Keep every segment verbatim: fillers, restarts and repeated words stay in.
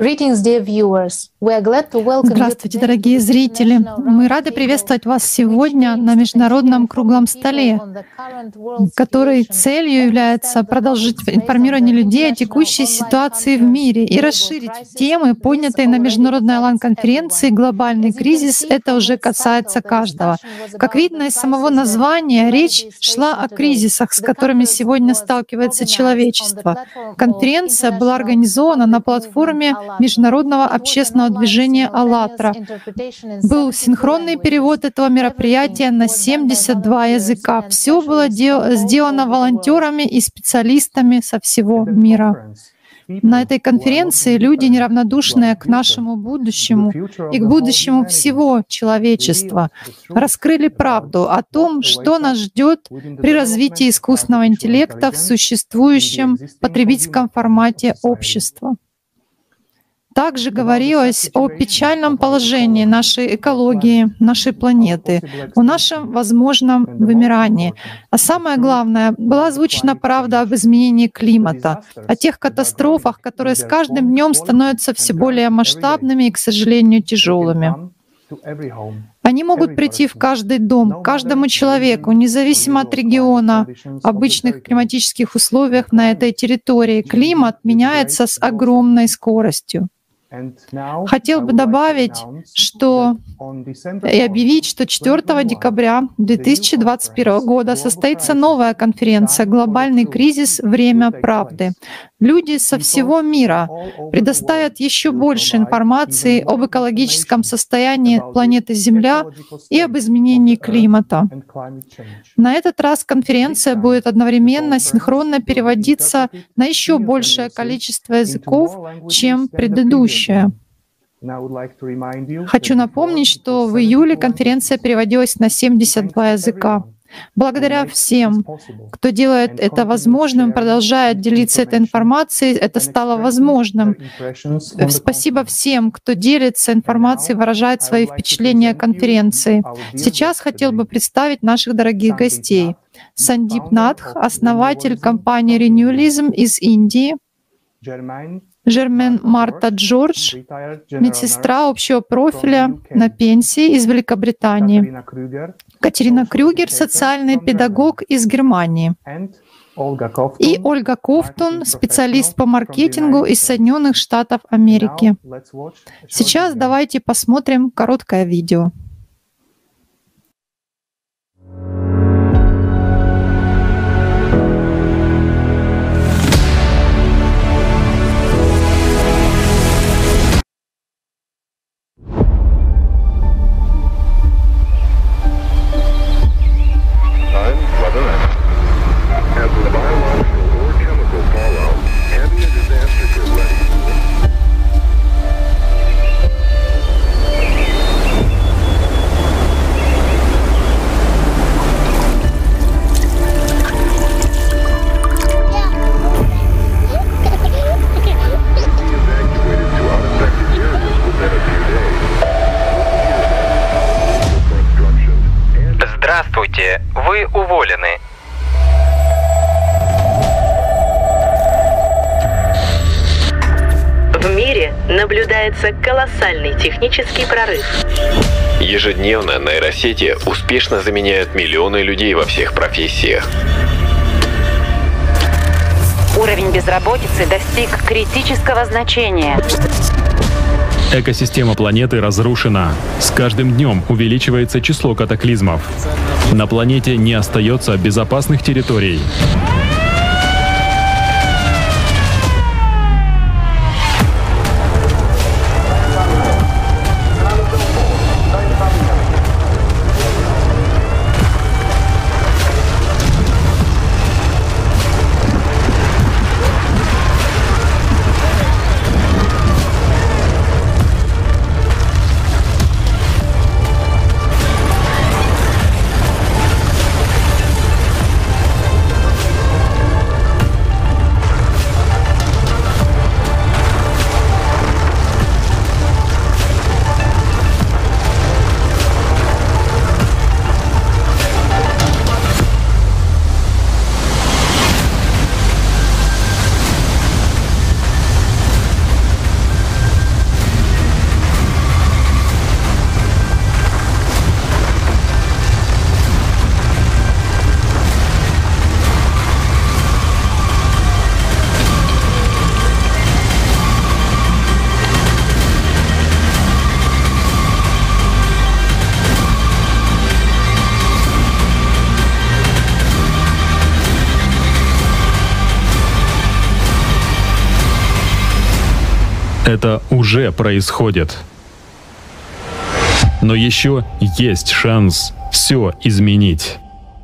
Здравствуйте, дорогие зрители! Мы рады приветствовать вас сегодня на Международном круглом столе, который целью является продолжить информирование людей о текущей ситуации в мире и расширить темы, поднятые на Международной Алан-конференции «Глобальный кризис». Это уже касается каждого. Как видно из самого названия, речь шла о кризисах, с которыми сегодня сталкивается человечество. Конференция была организована на платформе Международного общественного движения «АЛЛАТРА». Был синхронный перевод этого мероприятия на семьдесят два языка. Все было сделано волонтерами и специалистами со всего мира. На этой конференции люди, неравнодушные к нашему будущему и к будущему всего человечества, раскрыли правду о том, что нас ждет при развитии искусственного интеллекта в существующем потребительском формате общества. Также говорилось о печальном положении нашей экологии, нашей планеты, о нашем возможном вымирании. А самое главное, была озвучена правда об изменении климата, о тех катастрофах, которые с каждым днем становятся все более масштабными и, к сожалению, тяжелыми. Они могут прийти в каждый дом, к каждому человеку, независимо от региона, обычных климатических условиях на этой территории. Климат меняется с огромной скоростью. Хотел бы добавить, что и объявить, что четвёртого декабря две тысячи двадцать первого года состоится новая конференция «Глобальный кризис. Время правды». Люди со всего мира предоставят еще больше информации об экологическом состоянии планеты Земля и об изменении климата. На этот раз конференция будет одновременно синхронно переводиться на еще большее количество языков, чем предыдущая. Хочу напомнить, что в июле конференция переводилась на семьдесят два языка. Благодаря всем, кто делает это возможным, продолжает делиться этой информацией, это стало возможным. Спасибо всем, кто делится информацией, выражает свои впечатления о конференции. Сейчас хотел бы представить наших дорогих гостей. Сандип Надх, основатель компании Renewalism из Индии. Жермен Марта Джордж, медсестра общего профиля на пенсии из Великобритании. Катерина Крюгер, социальный педагог из Германии. И Ольга Ковтун, специалист по маркетингу из Соединенных Штатов Америки. Сейчас давайте посмотрим короткое видео. Здравствуйте, вы уволены. В мире наблюдается колоссальный технический прорыв. Ежедневно нейросети успешно заменяют миллионы людей во всех профессиях. Уровень безработицы достиг критического значения. Экосистема планеты разрушена. С каждым днем увеличивается число катаклизмов. На планете не остается безопасных территорий. Это уже происходит. Но еще есть шанс все изменить.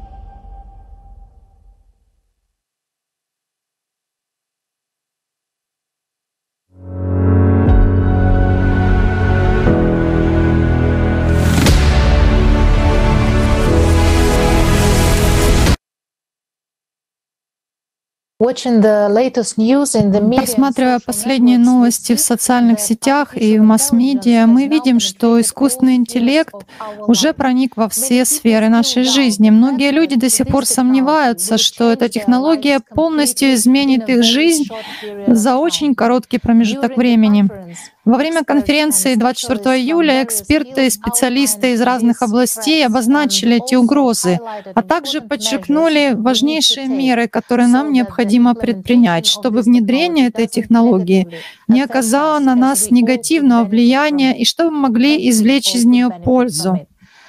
Просматривая последние новости в социальных сетях и в масс-медиа, мы видим, что искусственный интеллект уже проник во все сферы нашей жизни. Многие люди до сих пор сомневаются, что эта технология полностью изменит их жизнь за очень короткий промежуток времени. Во время конференции двадцать четвёртого июля эксперты и специалисты из разных областей обозначили эти угрозы, а также подчеркнули важнейшие меры, которые нам необходимо предпринять, чтобы внедрение этой технологии не оказало на нас негативного влияния и чтобы мы могли извлечь из нее пользу.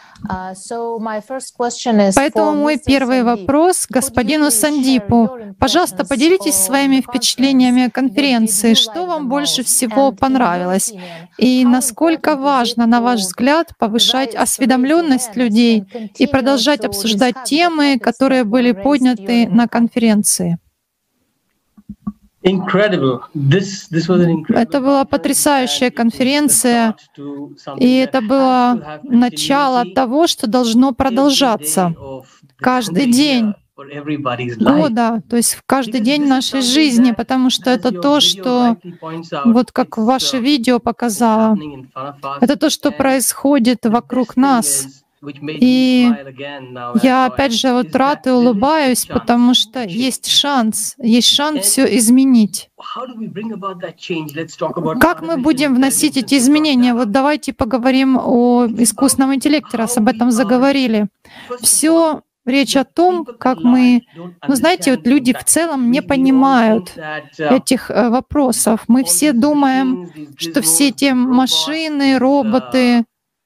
Поэтому мой первый вопрос господину Сандипу. Пожалуйста, поделитесь своими впечатлениями о конференции. Что вам больше всего понравилось? И насколько важно, на ваш взгляд, повышать осведомленность людей и продолжать обсуждать темы, которые были подняты на конференции? Это была потрясающая конференция, и это было начало того, что должно продолжаться каждый день. О, да, то есть в каждый день нашей жизни, потому что это то, что, вот как ваше видео показало, это то, что происходит вокруг нас. И я опять же вот рад и улыбаюсь, потому что есть шанс, есть шанс все изменить. Как мы будем вносить эти изменения? Вот давайте поговорим о искусственном интеллекте, раз об этом заговорили. Все речь о том, как мы, ну знаете, вот люди в целом не понимают этих э, вопросов. Мы все думаем, что все эти машины, роботы,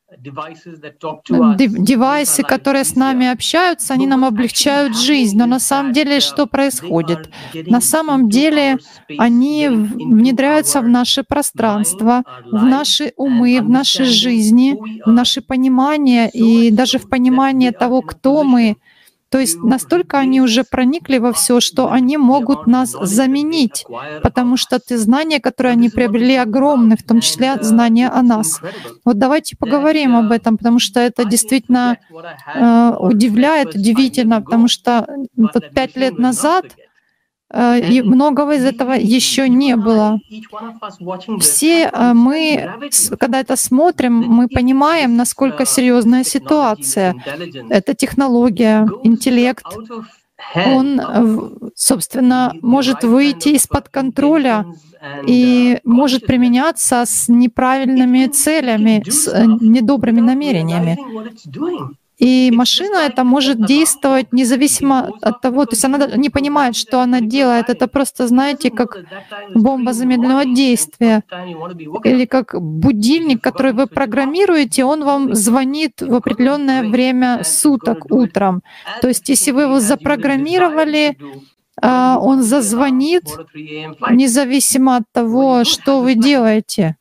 девайсы, которые с нами общаются, они нам облегчают жизнь. Но на самом деле что происходит? На самом деле они внедряются в наше пространство, в наши умы, в наши жизни, в наше понимание и даже в понимание того, кто мы. То есть настолько они уже проникли во все, что они могут нас заменить, потому что те знания, которые они приобрели, огромны, в том числе знания о нас. Вот давайте поговорим об этом, потому что это действительно э, удивляет, удивительно, потому что вот пять лет назад э, и многого из этого еще не было. Все э, мы, когда это смотрим, мы понимаем, насколько серьезная ситуация. Это технология, интеллект. Он, собственно, может выйти из-под контроля и может применяться с неправильными целями, с недобрыми намерениями. И машина эта может действовать независимо от того, то есть она не понимает, что она делает. Это просто, знаете, как бомба замедленного действия или как будильник, который вы программируете, он вам звонит в определенное время суток утром. То есть если вы его запрограммировали, он зазвонит независимо от того, что вы делаете.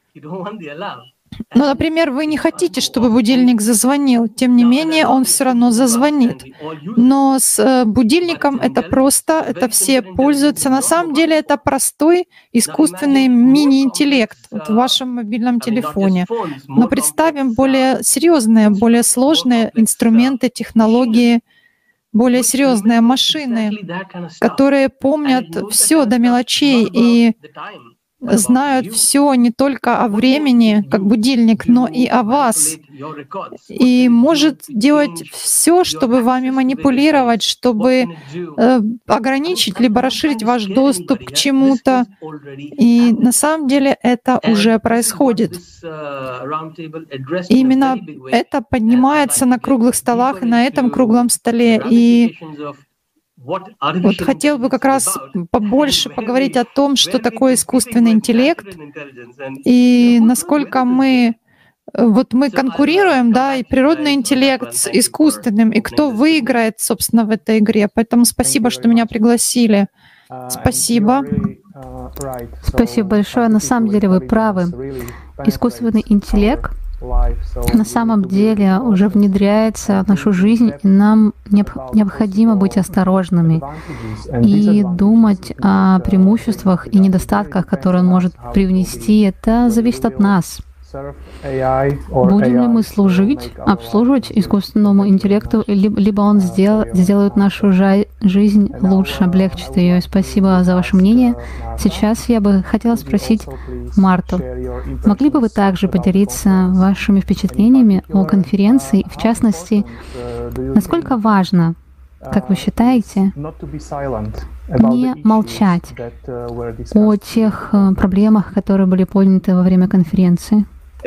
Ну, например, вы не хотите, чтобы будильник зазвонил, тем не менее он все равно зазвонит. Но с будильником это просто, это все пользуются. На самом деле это простой искусственный мини-интеллект вот в вашем мобильном телефоне. Но представим более серьезные, более сложные инструменты, технологии, более серьезные машины, которые помнят все до мелочей и знают все не только о времени, как будильник, но и о вас. И может делать все, чтобы вами манипулировать, чтобы э, ограничить либо расширить ваш доступ к чему-то. И на самом деле это уже происходит. И именно это поднимается на круглых столах и на этом круглом столе. И вот хотел бы как раз побольше поговорить о том, что такое искусственный интеллект и насколько мы вот мы конкурируем, да, и природный интеллект с искусственным, и кто выиграет, собственно, в этой игре. Поэтому спасибо, что меня пригласили. Спасибо. Спасибо большое. На самом деле вы правы. Искусственный интеллект на самом деле уже внедряется в нашу жизнь, и нам необходимо быть осторожными и думать о преимуществах и недостатках, которые он может привнести. Это зависит от нас. Будем ли мы служить, обслуживать искусственному интеллекту, либо он сдел, сделает нашу жизнь лучше, облегчит ее. Спасибо за ваше мнение. Сейчас я бы хотела спросить Марту. Могли бы вы также поделиться вашими впечатлениями о конференции, в частности, насколько важно, как вы считаете, не молчать о тех проблемах, которые были подняты во время конференции?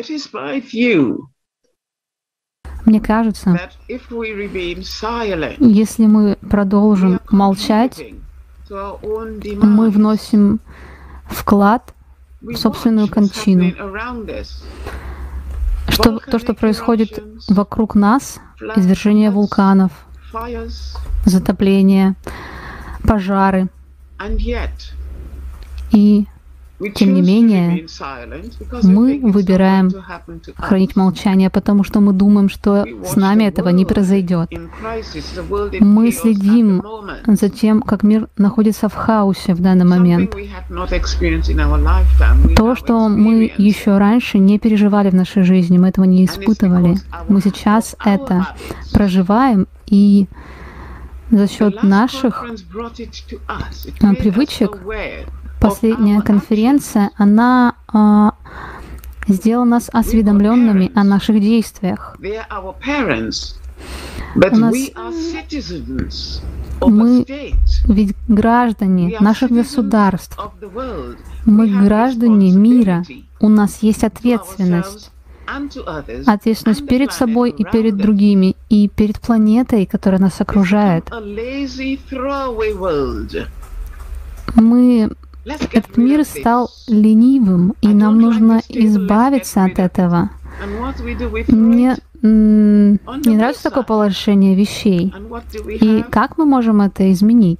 Мне кажется, если мы продолжим молчать, мы вносим вклад в собственную кончину. Что, то, что происходит вокруг нас, извержение вулканов, затопление, пожары. И тем не менее, мы выбираем хранить молчание, потому что мы думаем, что с нами этого не произойдет. Мы следим за тем, как мир находится в хаосе в данный момент. То, что мы еще раньше не переживали в нашей жизни, мы этого не испытывали. Мы сейчас это проживаем, и за счет наших привычек последняя конференция, она а, сделала нас осведомленными о наших действиях. У нас, мы ведь граждане наших государств, мы граждане мира, у нас есть ответственность. Ответственность перед собой и перед другими, и перед планетой, которая нас окружает. Мы Этот мир стал ленивым, и нам нужно избавиться от этого. Мне не нравится такое положение вещей. И как мы можем это изменить?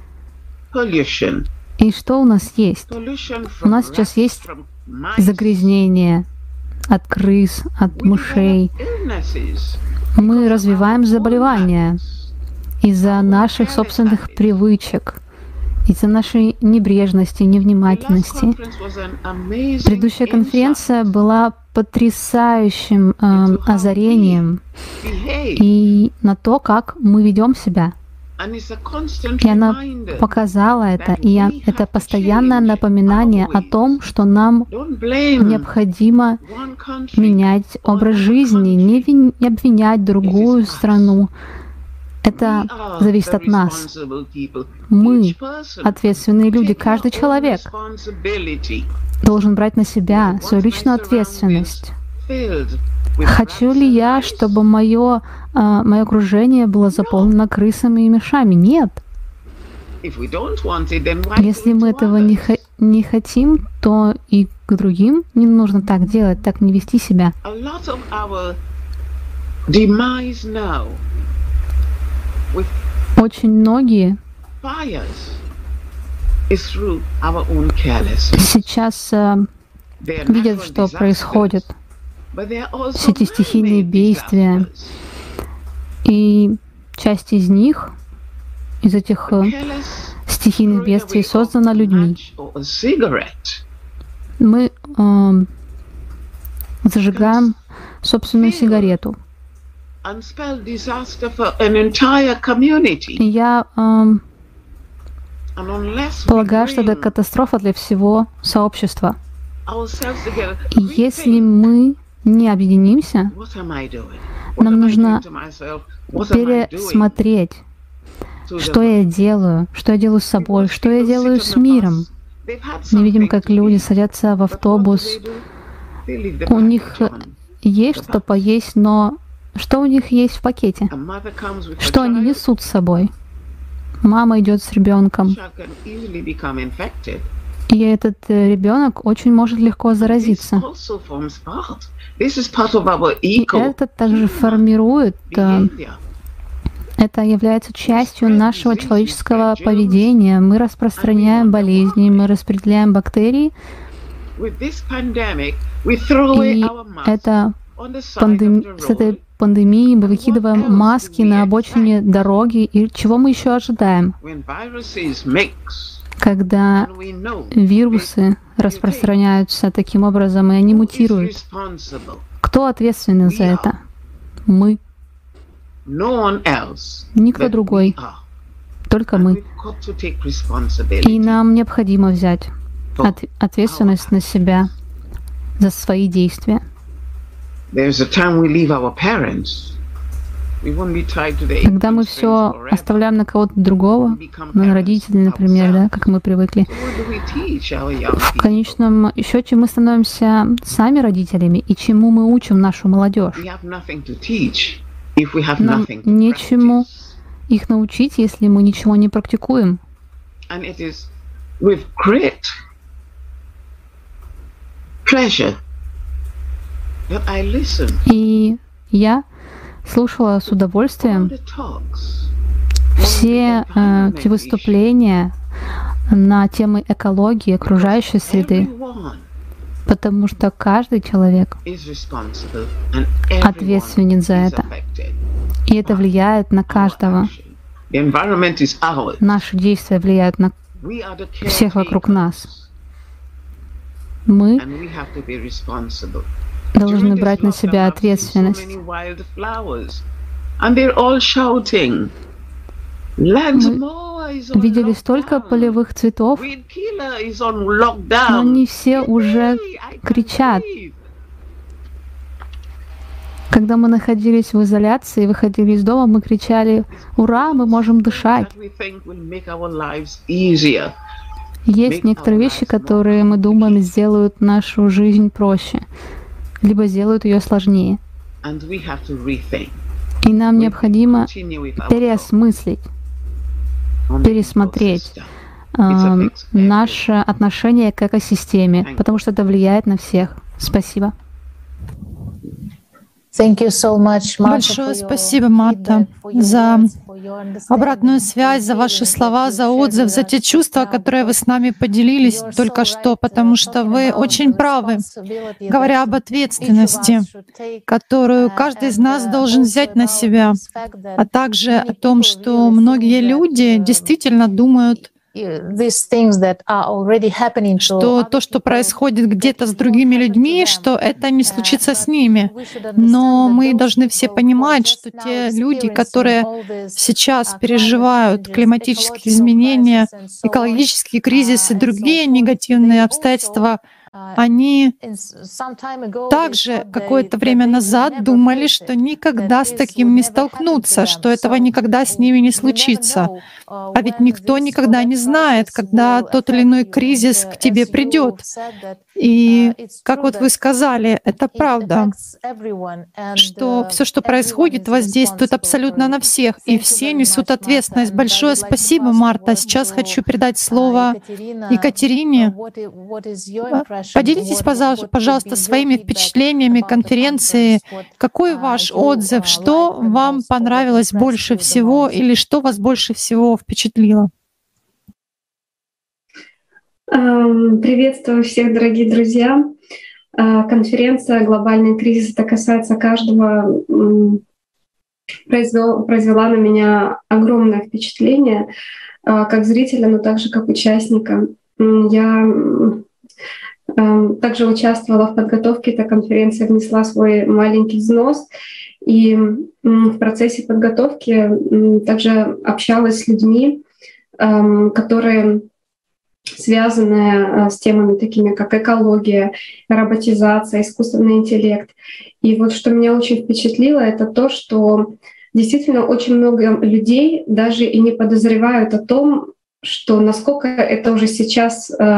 И что у нас есть? У нас сейчас есть загрязнение от крыс, от мышей. Мы развиваем заболевания из-за наших собственных привычек, из-за нашей небрежности, невнимательности. Предыдущая конференция была потрясающим э, озарением и на то, как мы ведем себя. И она показала это, и это постоянное напоминание о том, что нам необходимо менять образ жизни, не, вин, не обвинять другую страну. Это зависит от нас. Мы ответственные люди. Каждый человек должен брать на себя свою личную ответственность. Хочу ли я, чтобы мое, мое окружение было заполнено крысами и мышами? Нет. Если мы этого не, не хотим, то и к другим не нужно так делать, так не вести себя. Очень многие сейчас э, видят, что происходит, все эти стихийные бедствия, и часть из них, из этих э, стихийных бедствий, создана людьми. Мы э, зажигаем собственную сигарету. Я э, полагаю, что это катастрофа для всего сообщества. И если мы не объединимся, нам нужно пересмотреть, что я делаю, что я делаю с собой, что я делаю с миром. Мы видим, как люди садятся в автобус, у них есть что-то поесть, но что у них есть в пакете? Что они несут с собой? Мама идет с ребенком, и этот ребенок очень может легко заразиться. И это также формирует Это является частью нашего человеческого поведения. Мы распространяем болезни, мы распределяем бактерии. И это пандем... с этой пандемией мы выкидываем маски на обочине дороги. И чего мы еще ожидаем? Когда вирусы распространяются таким образом, и они мутируют. Кто ответственен за это? Мы. Никто другой. Только мы. И нам необходимо взять от, ответственность на себя за свои действия. Когда мы все оставляем на кого-то другого, на родителей, например, да, как мы привыкли, в конечном счете мы становимся сами родителями, и чему мы учим нашу молодежь? Нам нечему их научить, если мы ничего не практикуем. И я слушала с удовольствием все э, эти выступления на темы экологии, окружающей среды, потому что каждый человек ответственен за это. И это влияет на каждого. Наши действия влияют на всех вокруг нас. Мы должны брать на себя ответственность. Мы видели столько полевых цветов, но они все уже кричат. Когда мы находились в изоляции, выходили из дома, мы кричали: «Ура, мы можем дышать!» Есть некоторые вещи, которые, мы думаем, сделают нашу жизнь проще, либо сделают ее сложнее. И нам необходимо переосмыслить, пересмотреть э, наше отношение к экосистеме, потому что это влияет на всех. Спасибо. Большое спасибо, Марта, за обратную связь, за ваши слова, за отзыв, за те чувства, которые вы с нами поделились только что, потому что вы очень правы, говоря об ответственности, которую каждый из нас должен взять на себя, а также о том, что многие люди действительно думают, что то, что происходит где-то с другими людьми, что это не случится с ними. Но мы должны все понимать, что те люди, которые сейчас переживают климатические изменения, экологический кризис и другие негативные обстоятельства, они также какое-то время назад думали, что никогда с таким не столкнутся, что этого никогда с ними не случится. А ведь никто никогда не знает, когда тот или иной кризис к тебе придет. И, как вот вы сказали, это правда, что все, что происходит, воздействует абсолютно на всех, и все несут ответственность. Большое спасибо, Марта. Сейчас хочу передать слово Екатерине. Поделитесь, пожалуйста, своими впечатлениями конференции. Какой ваш отзыв? Что вам понравилось больше всего или что вас больше всего впечатлило? Приветствую всех, дорогие друзья. Конференция «Глобальный кризис» это касается каждого, произвел, произвела на меня огромное впечатление, как зрителя, но также как участника. Я также участвовала в подготовке этой конференции, внесла свой маленький взнос. И в процессе подготовки также общалась с людьми, которые связаны с темами такими, как экология, роботизация, искусственный интеллект. И вот что меня очень впечатлило, это то, что действительно очень много людей даже и не подозревают о том, что насколько это уже сейчас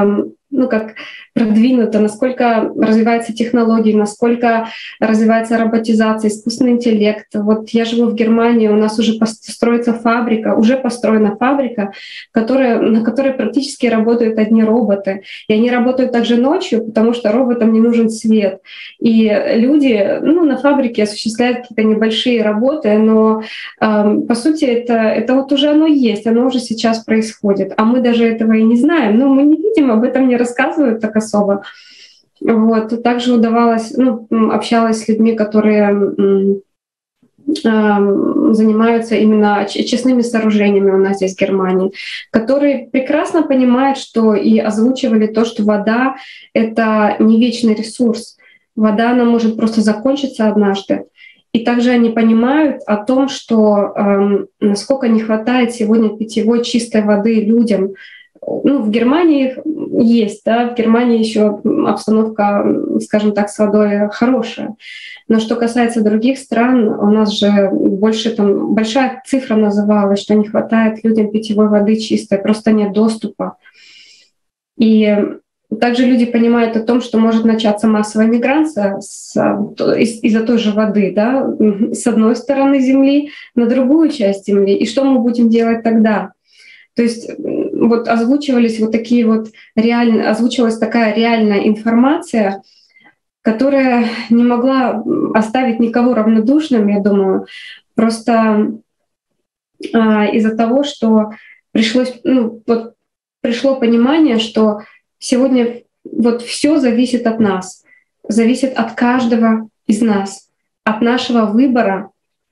ну, как продвинуто, насколько развиваются технологии, насколько развивается роботизация, искусственный интеллект. Вот я живу в Германии, у нас уже строится фабрика, уже построена фабрика, которая, на которой практически работают одни роботы. И они работают также ночью, потому что роботам не нужен свет. И люди, ну, на фабрике осуществляют какие-то небольшие работы, но э, по сути это, это вот уже оно есть, оно уже сейчас происходит. А мы даже этого и не знаем, но мы не видим, об этом не рассказывают так особо. Вот. Также удавалось, ну, общалась с людьми, которые м, э, занимаются именно честными сооружениями у нас здесь в Германии, которые прекрасно понимают, что и озвучивали то, что вода — это не вечный ресурс. Вода, она может просто закончиться однажды. И также они понимают о том, что э, насколько не хватает сегодня питьевой чистой воды людям. Ну, в Германии есть, да, в Германии еще обстановка, скажем так, с водой хорошая. Но что касается других стран, у нас же больше там большая цифра называлась, что не хватает людям питьевой воды чистой, просто нет доступа. И также люди понимают о том, что может начаться массовая миграция с, из, из-за той же воды, да, с одной стороны Земли на другую часть Земли. И что мы будем делать тогда? То есть вот озвучивались вот такие вот реально, озвучивалась такая реальная информация, которая не могла оставить никого равнодушным, я думаю, просто а, из-за того, что пришлось, ну, вот пришло понимание, что сегодня вот все зависит от нас, зависит от каждого из нас, от нашего выбора,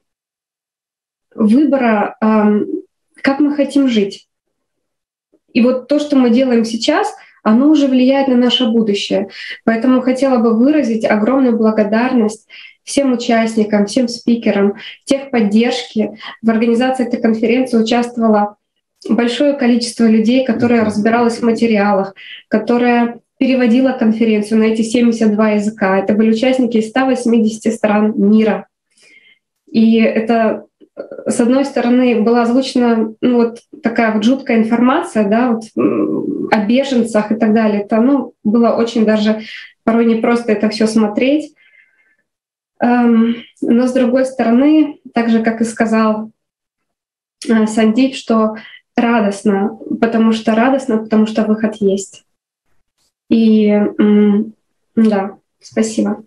выбора, эм, как мы хотим жить. И вот то, что мы делаем сейчас, оно уже влияет на наше будущее. Поэтому хотела бы выразить огромную благодарность всем участникам, всем спикерам, техподдержки. В организации этой конференции участвовало большое количество людей, которые разбиралось в материалах, которое переводила конференцию на эти семьдесят два языка. Это были участники из ста восьмидесяти стран мира. И это, с одной стороны, была озвучена, ну, вот такая вот жуткая информация, да, вот, о беженцах и так далее. Это, ну, было очень даже порой непросто это все смотреть. Но с другой стороны, так же, как и сказал Сандип, что радостно, потому что радостно, потому что выход есть. И да, спасибо.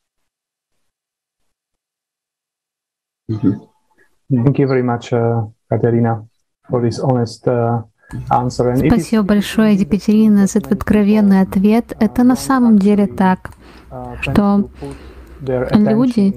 Thank you very much, uh, Katerina, for this honest uh, answer. And Спасибо большое, Екатерина, за этот откровенный ответ. Это на самом деле так, что люди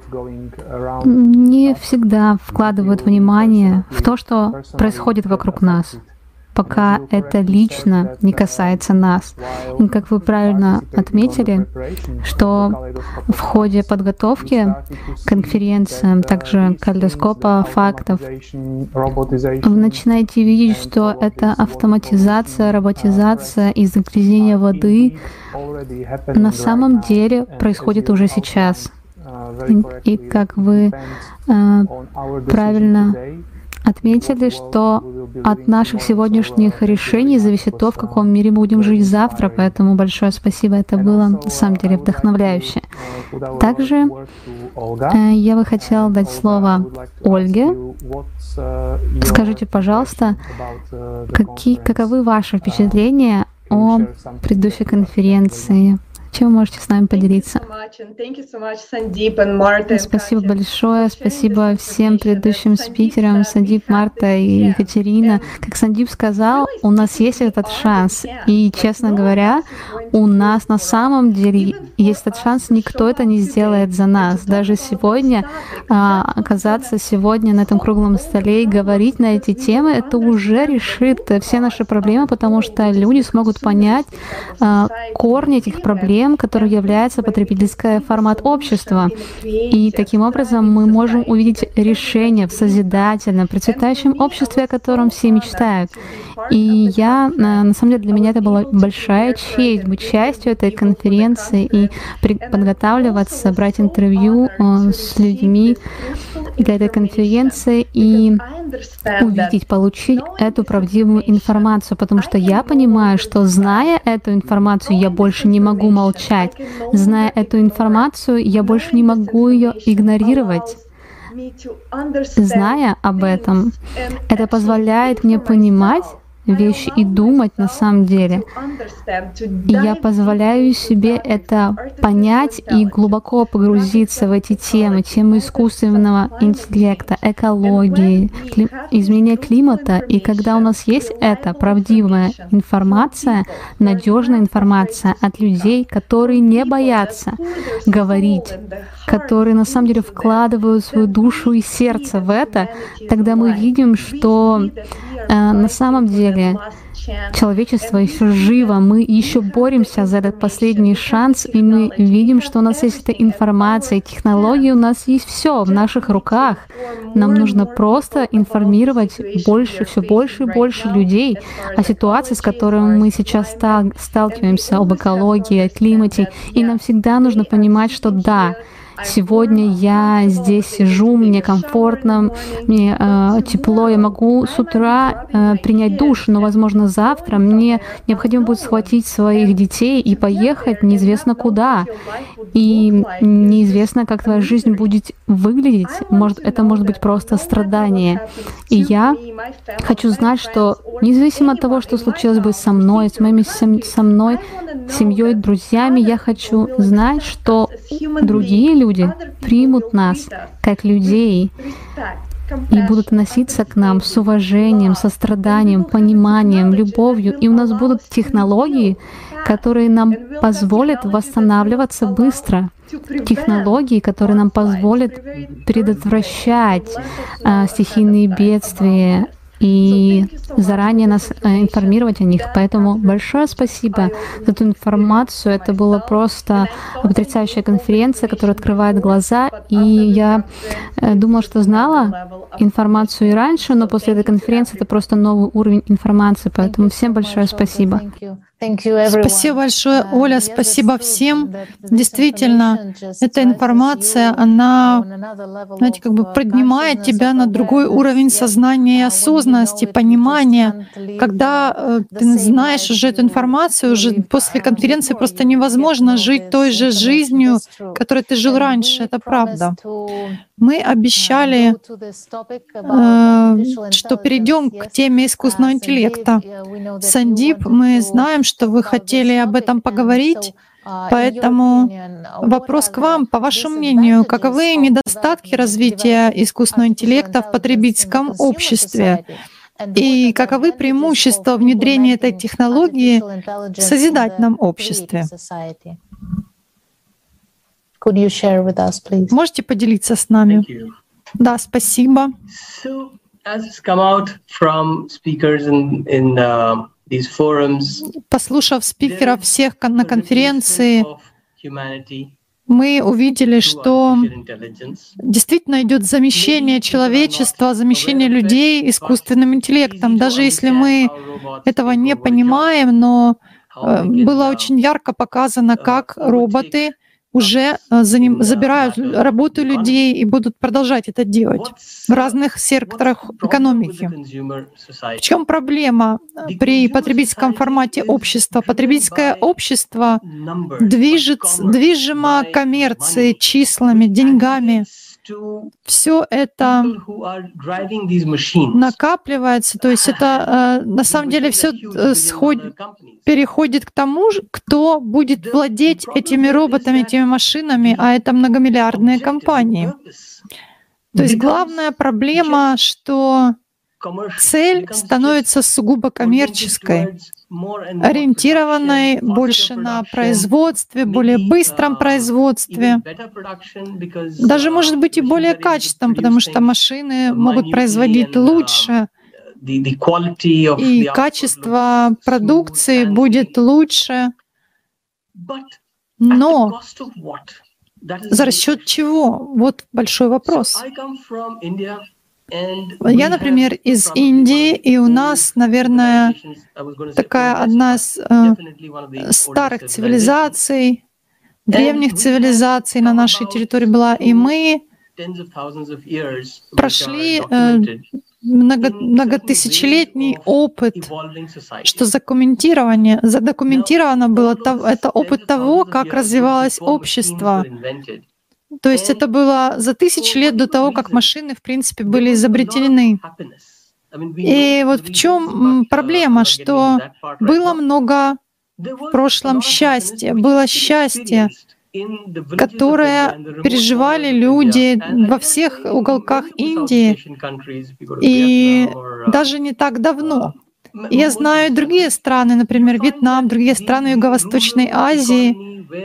не всегда вкладывают внимание в то, что происходит вокруг нас, пока это лично не касается нас. И как вы правильно отметили, что в ходе подготовки к конференциям, также калейдоскопа фактов, вы начинаете видеть, что это автоматизация, роботизация и загрязнение воды на самом деле происходит уже сейчас. И, и как вы э, правильно отметили, что от наших сегодняшних решений зависит то, в каком мире мы будем жить завтра, поэтому большое спасибо, это было на самом деле вдохновляюще. Также э, я бы хотела дать слово Ольге. Скажите, пожалуйста, какие, каковы ваши впечатления о предыдущей конференции? Чем вы можете с нами поделиться? Спасибо большое, спасибо всем предыдущим спикерам, Сандип, Марта и Екатерина. Как Сандип сказал, у нас есть этот шанс. И, честно говоря, у нас на самом деле есть этот шанс, никто это не сделает за нас. Даже сегодня, оказаться сегодня на этом круглом столе и говорить на эти темы, это уже решит все наши проблемы, потому что люди смогут понять корни этих проблем, который является потребительский формат общества. И таким образом мы можем увидеть решение в созидательном, процветающем обществе, о котором все мечтают. И я, на самом деле, для меня это была большая честь быть частью этой конференции и подготавливаться, брать интервью с людьми, для этой конференции и увидеть, получить эту правдивую информацию, потому что я понимаю, что, зная эту информацию, я больше не могу молчать. Зная эту информацию, я больше не могу ее игнорировать. Зная об этом, это позволяет мне понимать вещи и думать на самом деле. И я позволяю себе это понять и глубоко погрузиться в эти темы, темы искусственного интеллекта, экологии, кли... изменения климата. И когда у нас есть эта правдивая информация, надежная информация от людей, которые не боятся говорить, которые на самом деле вкладывают свою душу и сердце в это, тогда мы видим, что э, на самом деле человечество еще живо, мы еще боремся за этот последний шанс, и мы видим, что у нас есть эта информация, технологии, у нас есть все в наших руках. Нам нужно просто информировать больше, все больше и больше людей о ситуации, с которой мы сейчас сталкиваемся, об экологии, о климате. И нам всегда нужно понимать, что да, сегодня я здесь сижу, мне комфортно, мне э, тепло, я могу с утра э, принять душ, но, возможно, завтра мне необходимо будет схватить своих детей и поехать неизвестно куда. И неизвестно, как твоя жизнь будет выглядеть. Может, это может быть просто страдание. И я хочу знать, что независимо от того, что случилось бы со мной, с моими со мной, семьей, друзьями, я хочу знать, что другие люди люди примут нас как людей и будут относиться к нам с уважением, состраданием, пониманием, любовью. И у нас будут технологии, которые нам позволят восстанавливаться быстро. Технологии, которые нам позволят предотвращать а, стихийные бедствия и заранее нас информировать о них. Поэтому большое спасибо за эту информацию. Это была просто потрясающая конференция, которая открывает глаза. И я думала, что знала информацию и раньше, но после этой конференции это просто новый уровень информации. Поэтому всем большое спасибо. Спасибо большое, Оля, спасибо всем. Действительно, эта информация, она, знаете, как бы поднимает тебя на другой уровень сознания и осознанности, понимания. Когда э, ты знаешь уже эту информацию, уже после конференции просто невозможно жить той же жизнью, которой ты жил раньше, это правда. Мы обещали, э, что перейдем к теме искусственного интеллекта. Сандип, мы знаем, что вы хотели об этом поговорить, поэтому вопрос к вам. По вашему мнению, каковы недостатки развития искусственного интеллекта в потребительском обществе? И каковы преимущества внедрения этой технологии в созидательном обществе? Можете поделиться с нами? Да, спасибо. Послушав спикеров всех на конференции, мы увидели, что действительно идет замещение человечества, замещение людей искусственным интеллектом. Даже если мы этого не понимаем, но было очень ярко показано, как роботы уже забирают работу людей и будут продолжать это делать в разных секторах экономики. В чем проблема при потребительском формате общества? Потребительское общество движется, движимо коммерцией, числами, деньгами. Все это накапливается, то есть это на самом деле все сходит, переходит к тому, кто будет владеть этими роботами, этими машинами, а это многомиллиардные компании. То есть главная проблема, что цель становится сугубо коммерческой, ориентированной больше на производстве, более быстром производстве, даже, может быть, и более качественном, потому что машины могут производить лучше, и качество продукции будет лучше. Но за счет чего? Вот большой вопрос. Я, например, из Индии, и у нас, наверное, такая одна из э, старых цивилизаций, древних цивилизаций на нашей территории была, и мы прошли э, много, многотысячелетний опыт, что задокументирование, задокументировано было, это опыт того, как развивалось общество. То есть это было за тысячи лет до того, как машины, в принципе, были изобретены. И вот в чем проблема, что было много в прошлом счастья, было счастье, которое переживали люди во всех уголках Индии, и даже не так давно. Я знаю другие страны, например, Вьетнам, другие страны Юго-Восточной Азии,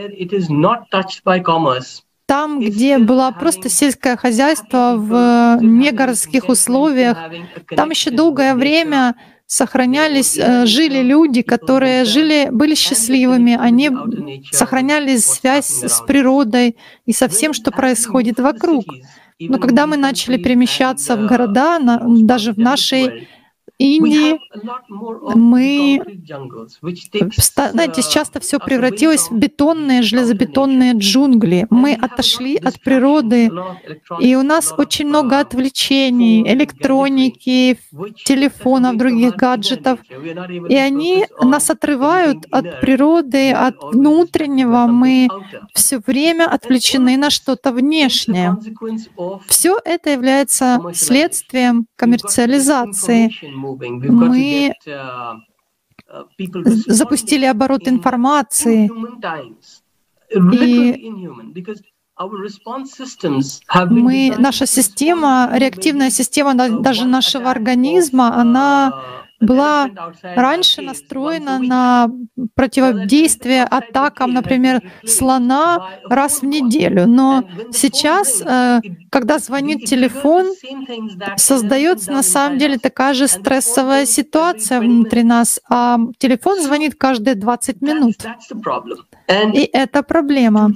там, где было просто сельское хозяйство в негородских условиях, там еще долгое время сохранялись, жили люди, которые жили, были счастливыми, они сохраняли связь с природой и со всем, что происходит вокруг. Но когда мы начали перемещаться в города, даже в нашей Индии, мы, знаете, часто все превратилось в бетонные, железобетонные джунгли. Мы отошли от природы, и у нас очень много отвлечений, электроники, телефонов, других гаджетов. И они нас отрывают от природы, от внутреннего. Мы все время отвлечены на что-то внешнее. Все это является следствием коммерциализации. Мы запустили оборот информации, и мы, наша система, реактивная система даже нашего организма, она была раньше настроена на противодействие атакам, например, слона раз в неделю. Но сейчас, когда звонит телефон, создается на самом деле такая же стрессовая ситуация внутри нас, а телефон звонит каждые двадцать минут. И это проблема.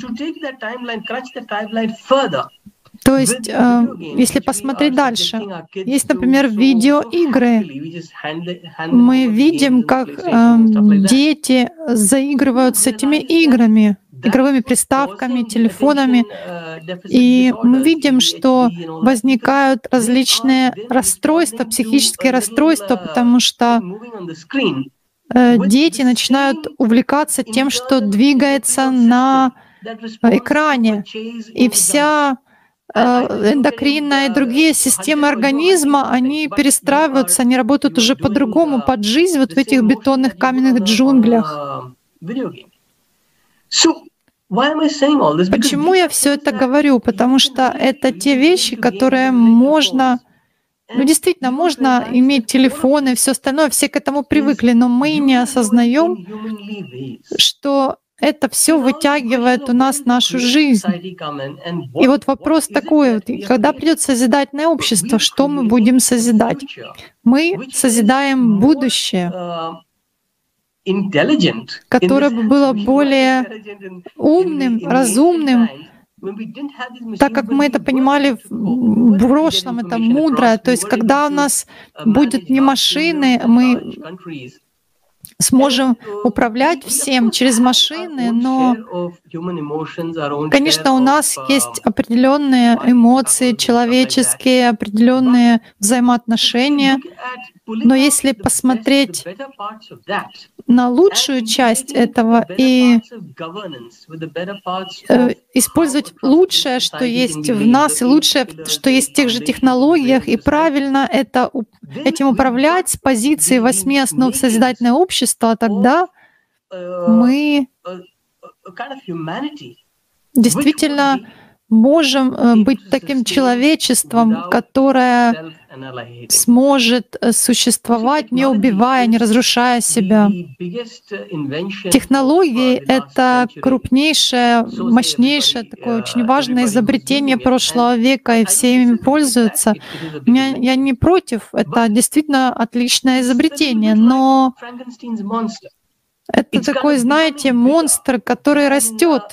То есть, э, если посмотреть дальше, есть, например, видеоигры. Мы видим, как э, дети заигрывают с этими играми, игровыми приставками, телефонами, и мы видим, что возникают различные расстройства, психические расстройства, потому что э, дети начинают увлекаться тем, что двигается на экране, и вся эндокринная и другие системы организма, они перестраиваются, они работают уже по-другому, под жизнь вот в этих бетонных каменных джунглях. Почему я все это говорю? Потому что это те вещи, которые можно, ну действительно, можно иметь телефоны и все остальное, все к этому привыкли, но мы не осознаем, что это все вытягивает у нас нашу жизнь. И вот вопрос такой, когда придет созидательное общество, что мы будем созидать? Мы созидаем будущее, которое бы было более умным, разумным, так как мы это понимали в прошлом, это мудрое. То есть когда у нас будут не машины, мы сможем управлять всем через машины, но, конечно, у нас есть определенные эмоции человеческие, определенные взаимоотношения, но если посмотреть на лучшую часть этого и э, использовать лучшее, что есть в нас, и лучшее, что есть в тех же технологиях, и правильно это, этим управлять с позиции восьми основ созидательного общества, тогда мы действительно можем быть таким человечеством, которое сможет существовать, не убивая, не разрушая себя. Технологии — это крупнейшее, мощнейшее, такое очень важное изобретение прошлого века, и все ими пользуются. Я, я не против, это действительно отличное изобретение, но это такой, знаете, монстр, который растет.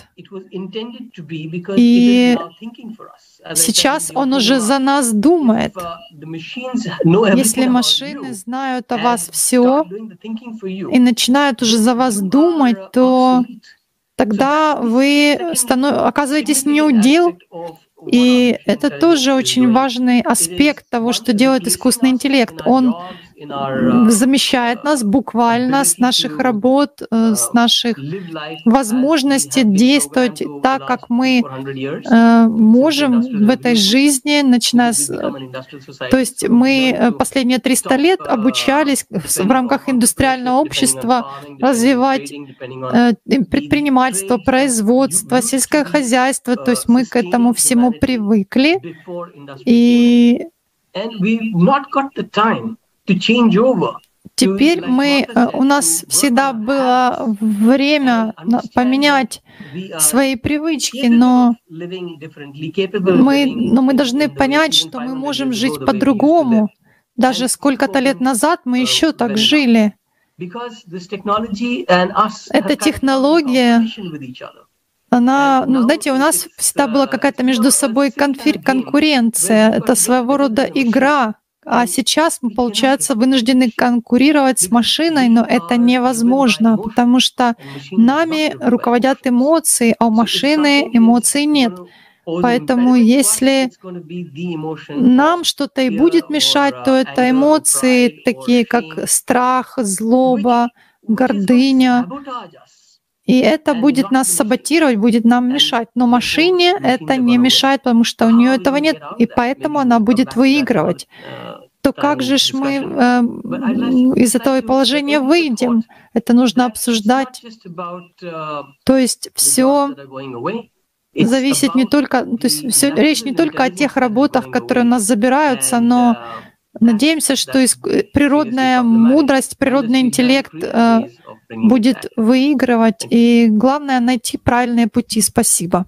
И сейчас он уже за нас думает. Если машины знают о вас все и начинают уже за вас думать, то тогда вы станов... оказываетесь неудел И это тоже очень важный аспект того, что делает искусственный интеллект. Он замещает нас буквально с наших работ, с наших возможностей действовать так, как мы э, можем в этой жизни, начиная с... То есть мы последние триста лет обучались в рамках индустриального общества развивать э, предпринимательство, производство, сельское хозяйство. То есть мы к этому всему привыкли. И теперь мы, у нас всегда было время поменять свои привычки, но мы, но мы должны понять, что мы можем жить по-другому. Даже сколько-то лет назад мы еще так жили. Эта технология, она, ну, знаете, у нас всегда была какая-то между собой конфер- конкуренция, это своего рода игра. А сейчас мы, получается, вынуждены конкурировать с машиной, но это невозможно, потому что нами руководят эмоции, а у машины эмоций нет. Поэтому если нам что-то и будет мешать, то это эмоции, такие как страх, злоба, гордыня. И это будет нас саботировать, будет нам мешать. Но машине это не мешает, потому что у нее этого нет, и поэтому она будет выигрывать. То как же ж мы э, из этого положения выйдем? Это нужно обсуждать. То есть все зависит не только, то есть все, речь не только о тех работах, которые у нас забираются, но надеемся, что природная мудрость, природный интеллект э, будет выигрывать, и главное — найти правильные пути. Спасибо.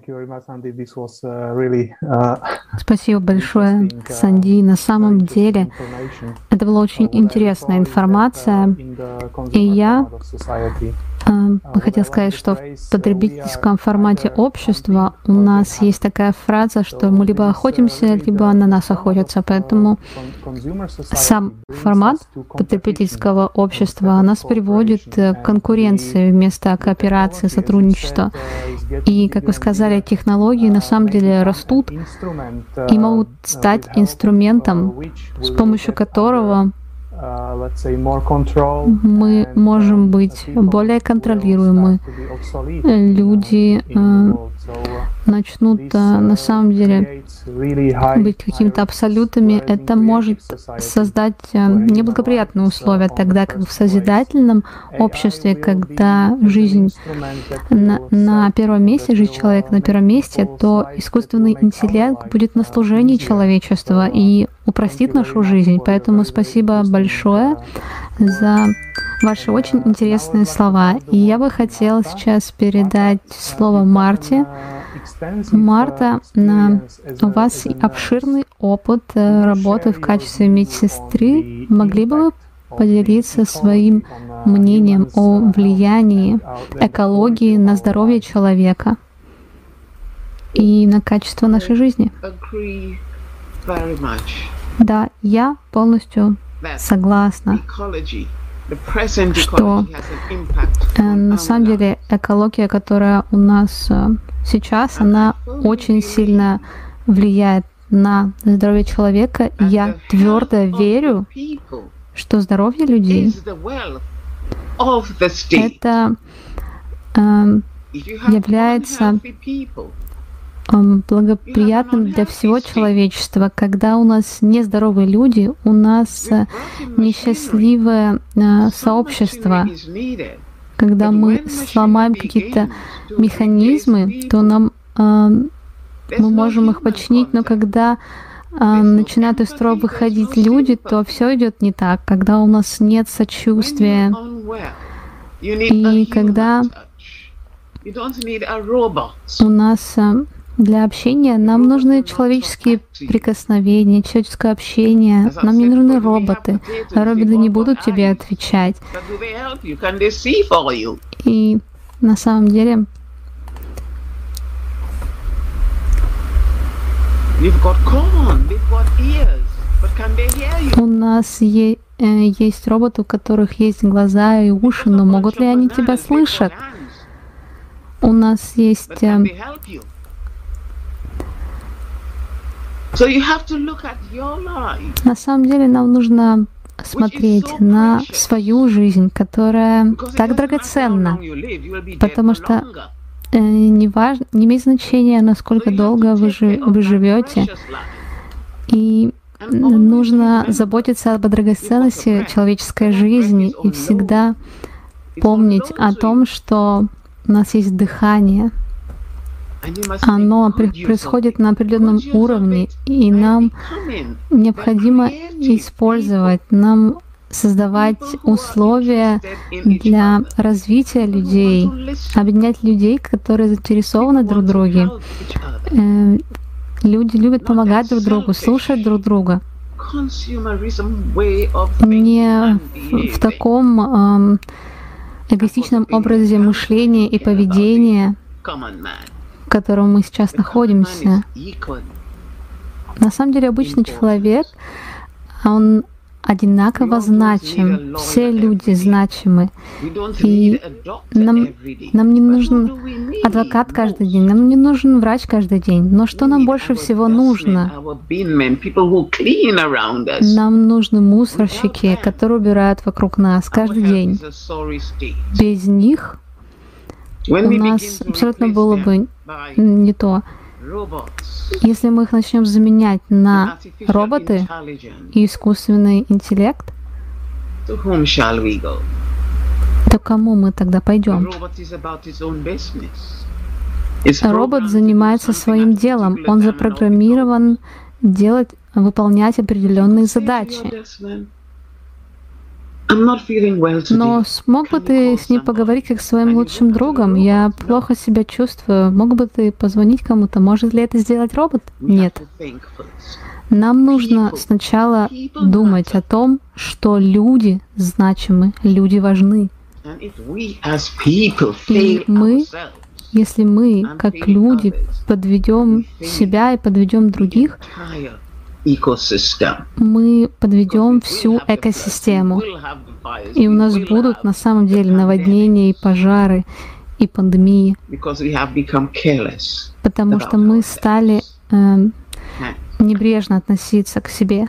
Спасибо большое, Санди. На самом деле, это была очень интересная информация, и я э, хотела сказать, что в потребительском формате общества у нас есть такая фраза, что мы либо охотимся, либо на нас охотятся. Поэтому сам формат потребительского общества нас приводит к конкуренции вместо кооперации, сотрудничества. И, как вы сказали, технологии на самом деле растут и могут стать инструментом, с помощью которого мы можем быть более контролируемы. Люди э, начнут э, на самом деле быть какими-то абсолютами. Это может создать э, неблагоприятные условия, тогда как в созидательном обществе, когда жизнь на, на первом месте, жизнь человека на первом месте, то искусственный интеллект будет на служении человечества и упростит нашу жизнь. Поэтому спасибо большое за ваши очень интересные слова. И я бы хотела сейчас передать слово Марте. Марта, у вас обширный опыт работы в качестве медсестры. Могли бы вы поделиться своим мнением о влиянии экологии на здоровье человека и на качество нашей жизни? Да, я полностью согласна, что э, на самом деле экология, которая у нас э, сейчас, она очень сильно влияет на здоровье человека. Я твердо верю, что здоровье людей — это э, является благоприятным для всего человечества. Когда у нас нездоровые люди, у нас несчастливое сообщество. Когда мы сломаем какие-то механизмы, то нам мы можем их починить, но когда начинают из строя выходить люди, то все идет не так. Когда у нас нет сочувствия, и когда у нас для общения нам нужны человеческие прикосновения, человеческое общение. Нам не нужны роботы. Роботы не будут тебе отвечать. И на самом деле у нас е- есть роботы, у которых есть глаза и уши, но могут ли они тебя слышать? У нас есть На самом деле нам нужно смотреть на свою жизнь, которая так драгоценна, потому что э, не, важ... не имеет значения, насколько долго вы, жи... вы живете, и нужно заботиться об драгоценности человеческой жизни и всегда помнить о том, что у нас есть дыхание. Оно происходит на определенном уровне, и нам необходимо использовать, нам создавать условия для развития людей, объединять людей, которые заинтересованы друг в друге. Люди любят помогать друг другу, слушать друг друга. Не в таком эм, эгоистичном образе мышления и поведения, в котором мы сейчас находимся. На самом деле обычный человек, он одинаково значим. Все люди значимы. И нам, нам не нужен адвокат каждый день, нам не нужен врач каждый день. Но что нам больше всего нужно? Нам нужны мусорщики, которые убирают вокруг нас каждый день. Без них у нас абсолютно было бы не то. Если мы их начнем заменять на роботы и искусственный интеллект, то кому мы тогда пойдем? Робот занимается своим делом. Он запрограммирован делать, выполнять определенные задачи. Но смог бы ты с ним поговорить как с своим лучшим другом? Я плохо себя чувствую. Мог бы ты позвонить кому-то? Может ли это сделать робот? Нет. Нам нужно сначала думать о том, что люди значимы, люди важны. И мы, если мы, как люди, подведем себя и подведем других, мы подведем всю экосистему. И у нас будут на самом деле наводнения и пожары, и пандемии. Потому что мы стали э, небрежно относиться к себе.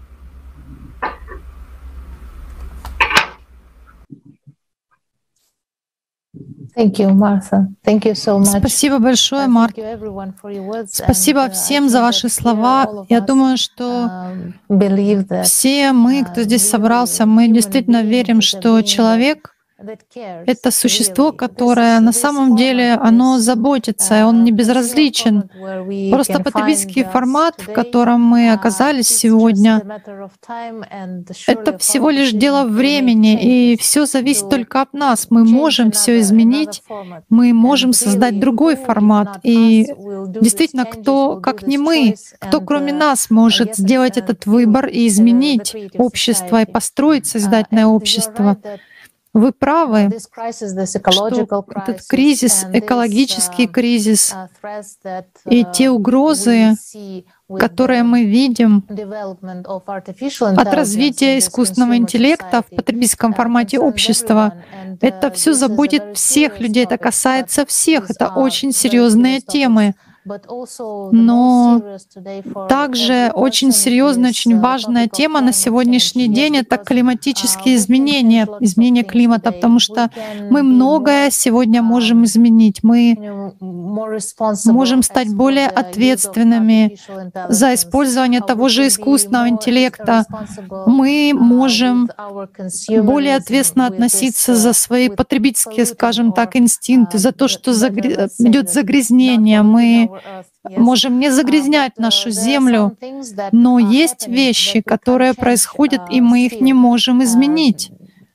Thank you, Martha. Thank you so much. Спасибо большое, Марк. Спасибо всем за ваши слова. Я думаю, что все мы, кто здесь собрался, мы действительно верим, что человек — это существо, которое на самом деле оно заботится, и он не безразличен. Просто потребительский формат, в котором мы оказались сегодня, это всего лишь дело времени, и все зависит только от нас. Мы можем все изменить, мы можем создать другой формат. И действительно, кто, как не мы, кто кроме нас может сделать этот выбор и изменить общество, и построить создательное общество? Вы правы, что этот кризис, экологический кризис и те угрозы, которые мы видим от развития искусственного интеллекта в потребительском формате общества, это все заботит всех людей, это касается всех, это очень серьезные темы. Но также очень серьезная, очень важная тема на сегодняшний день — это климатические изменения, изменение климата, потому что мы многое сегодня можем изменить. Мы можем стать более ответственными за использование того же искусственного интеллекта. Мы можем более ответственно относиться за свои потребительские, скажем так, инстинкты, за то, что загр... идет загрязнение. Мы можем не загрязнять нашу землю, но есть вещи, которые происходят, и мы их не можем изменить.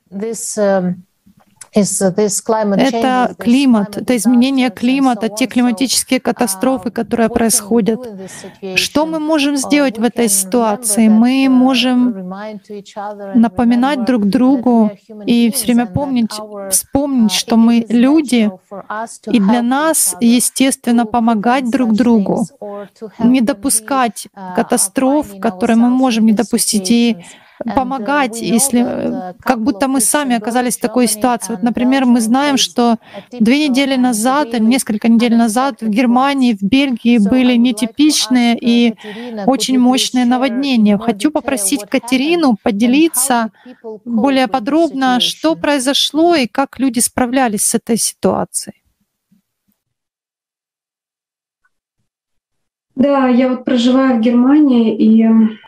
Это климат, это изменение климата, те климатические катастрофы, которые происходят. Что мы можем сделать в этой ситуации? Мы можем напоминать друг другу и все время помнить, вспомнить, что мы люди, и для нас, естественно, помогать друг другу, не допускать катастроф, которые мы можем не допустить, и помогать, если как будто мы сами оказались в такой ситуации. Вот, например, мы знаем, что две недели назад или несколько недель назад в Германии, в Бельгии были нетипичные и очень мощные наводнения. Хочу попросить Катерину поделиться более подробно, что произошло и как люди справлялись с этой ситуацией. Да, я вот проживаю в Германии, и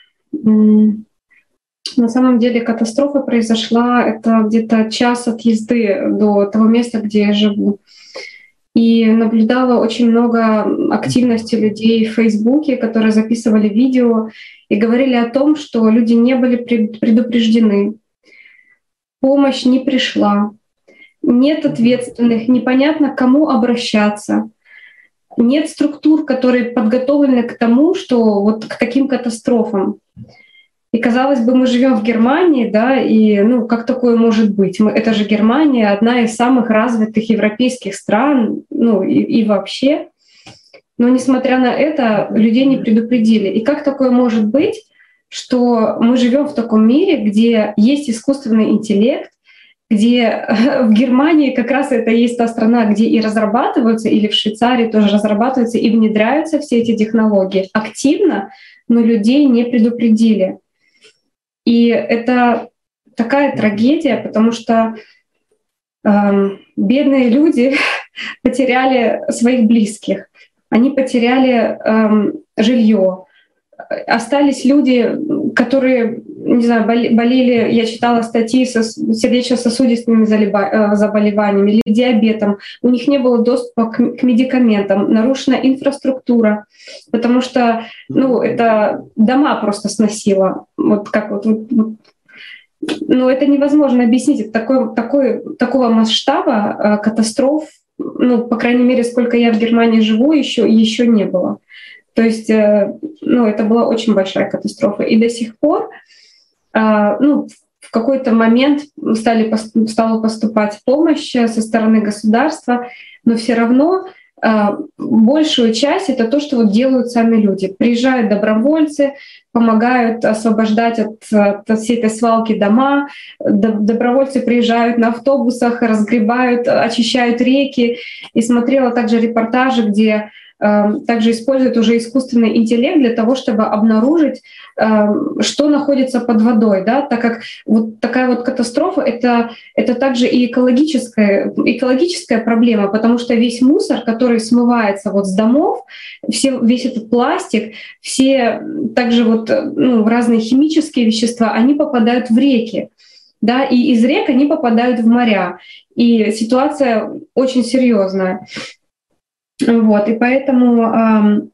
м, на самом деле катастрофа произошла, это где-то час от езды до того места, где я живу. И наблюдала очень много активности людей в Фейсбуке, которые записывали видео и говорили о том, что люди не были предупреждены, помощь не пришла, нет ответственных, непонятно к кому обращаться. Нет структур, которые подготовлены к тому, что вот к таким катастрофам. И казалось бы, мы живем в Германии, да, и ну как такое может быть? Мы, это же Германия, одна из самых развитых европейских стран, ну и, и вообще. Но несмотря на это, людей не предупредили. И как такое может быть, что мы живем в таком мире, где есть искусственный интеллект, где в Германии как раз это есть та страна, где и разрабатываются, или в Швейцарии тоже разрабатываются и внедряются все эти технологии активно, но людей не предупредили. И это такая трагедия, потому что э, бедные люди потеряли своих близких, они потеряли э, жилье. Остались люди, которые, не знаю, болели, я читала статьи со сердечно-сосудистыми заболеваниями или диабетом. У них не было доступа к медикаментам, нарушена инфраструктура, потому что ну, это дома просто сносило. Вот как вот, вот, вот. Ну, это невозможно объяснить. Это такой, такой, такого масштаба катастроф, ну, по крайней мере, сколько я в Германии живу, еще, еще не было. То есть, ну, это была очень большая катастрофа. И до сих пор, ну, в какой-то момент стали, стала поступать помощь со стороны государства, но все равно большую часть — это то, что вот делают сами люди. Приезжают добровольцы, помогают освобождать от, от всей этой свалки дома. Добровольцы приезжают на автобусах, разгребают, очищают реки. И смотрела также репортажи, где также используют уже искусственный интеллект для того, чтобы обнаружить, что находится под водой, да, так как вот такая вот катастрофа — это, это также и экологическая, экологическая проблема, потому что весь мусор, который смывается вот с домов, все, весь этот пластик, все также вот, ну, разные химические вещества, они попадают в реки, да, и из рек они попадают в моря. И ситуация очень серьезная. Вот, и поэтому,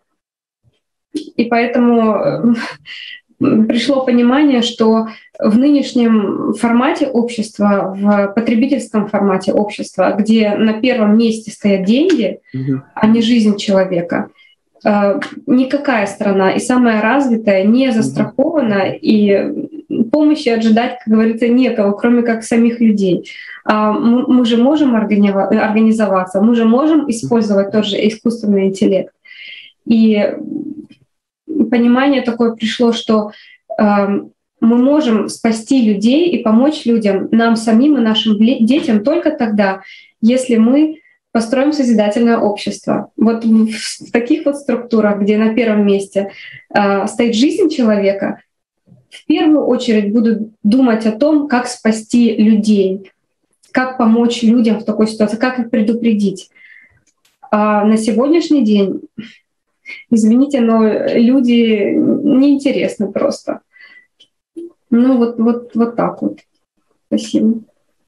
и поэтому пришло понимание, что в нынешнем формате общества, в потребительском формате общества, где на первом месте стоят деньги, mm-hmm. а не жизнь человека, никакая страна, и самая развитая, не застрахована, mm-hmm. и помощи ожидать, как говорится, некого, кроме как самих людей. Мы, мы же можем организоваться, мы же можем использовать тот же искусственный интеллект. И понимание такое пришло, что э, мы можем спасти людей и помочь людям, нам самим и нашим детям только тогда, если мы построим созидательное общество. Вот в, в таких вот структурах, где на первом месте э, стоит жизнь человека, в первую очередь будут думать о том, как спасти людей, как помочь людям в такой ситуации, как их предупредить. А на сегодняшний день, извините, но люди неинтересны просто. Ну вот, вот, вот так вот. Спасибо.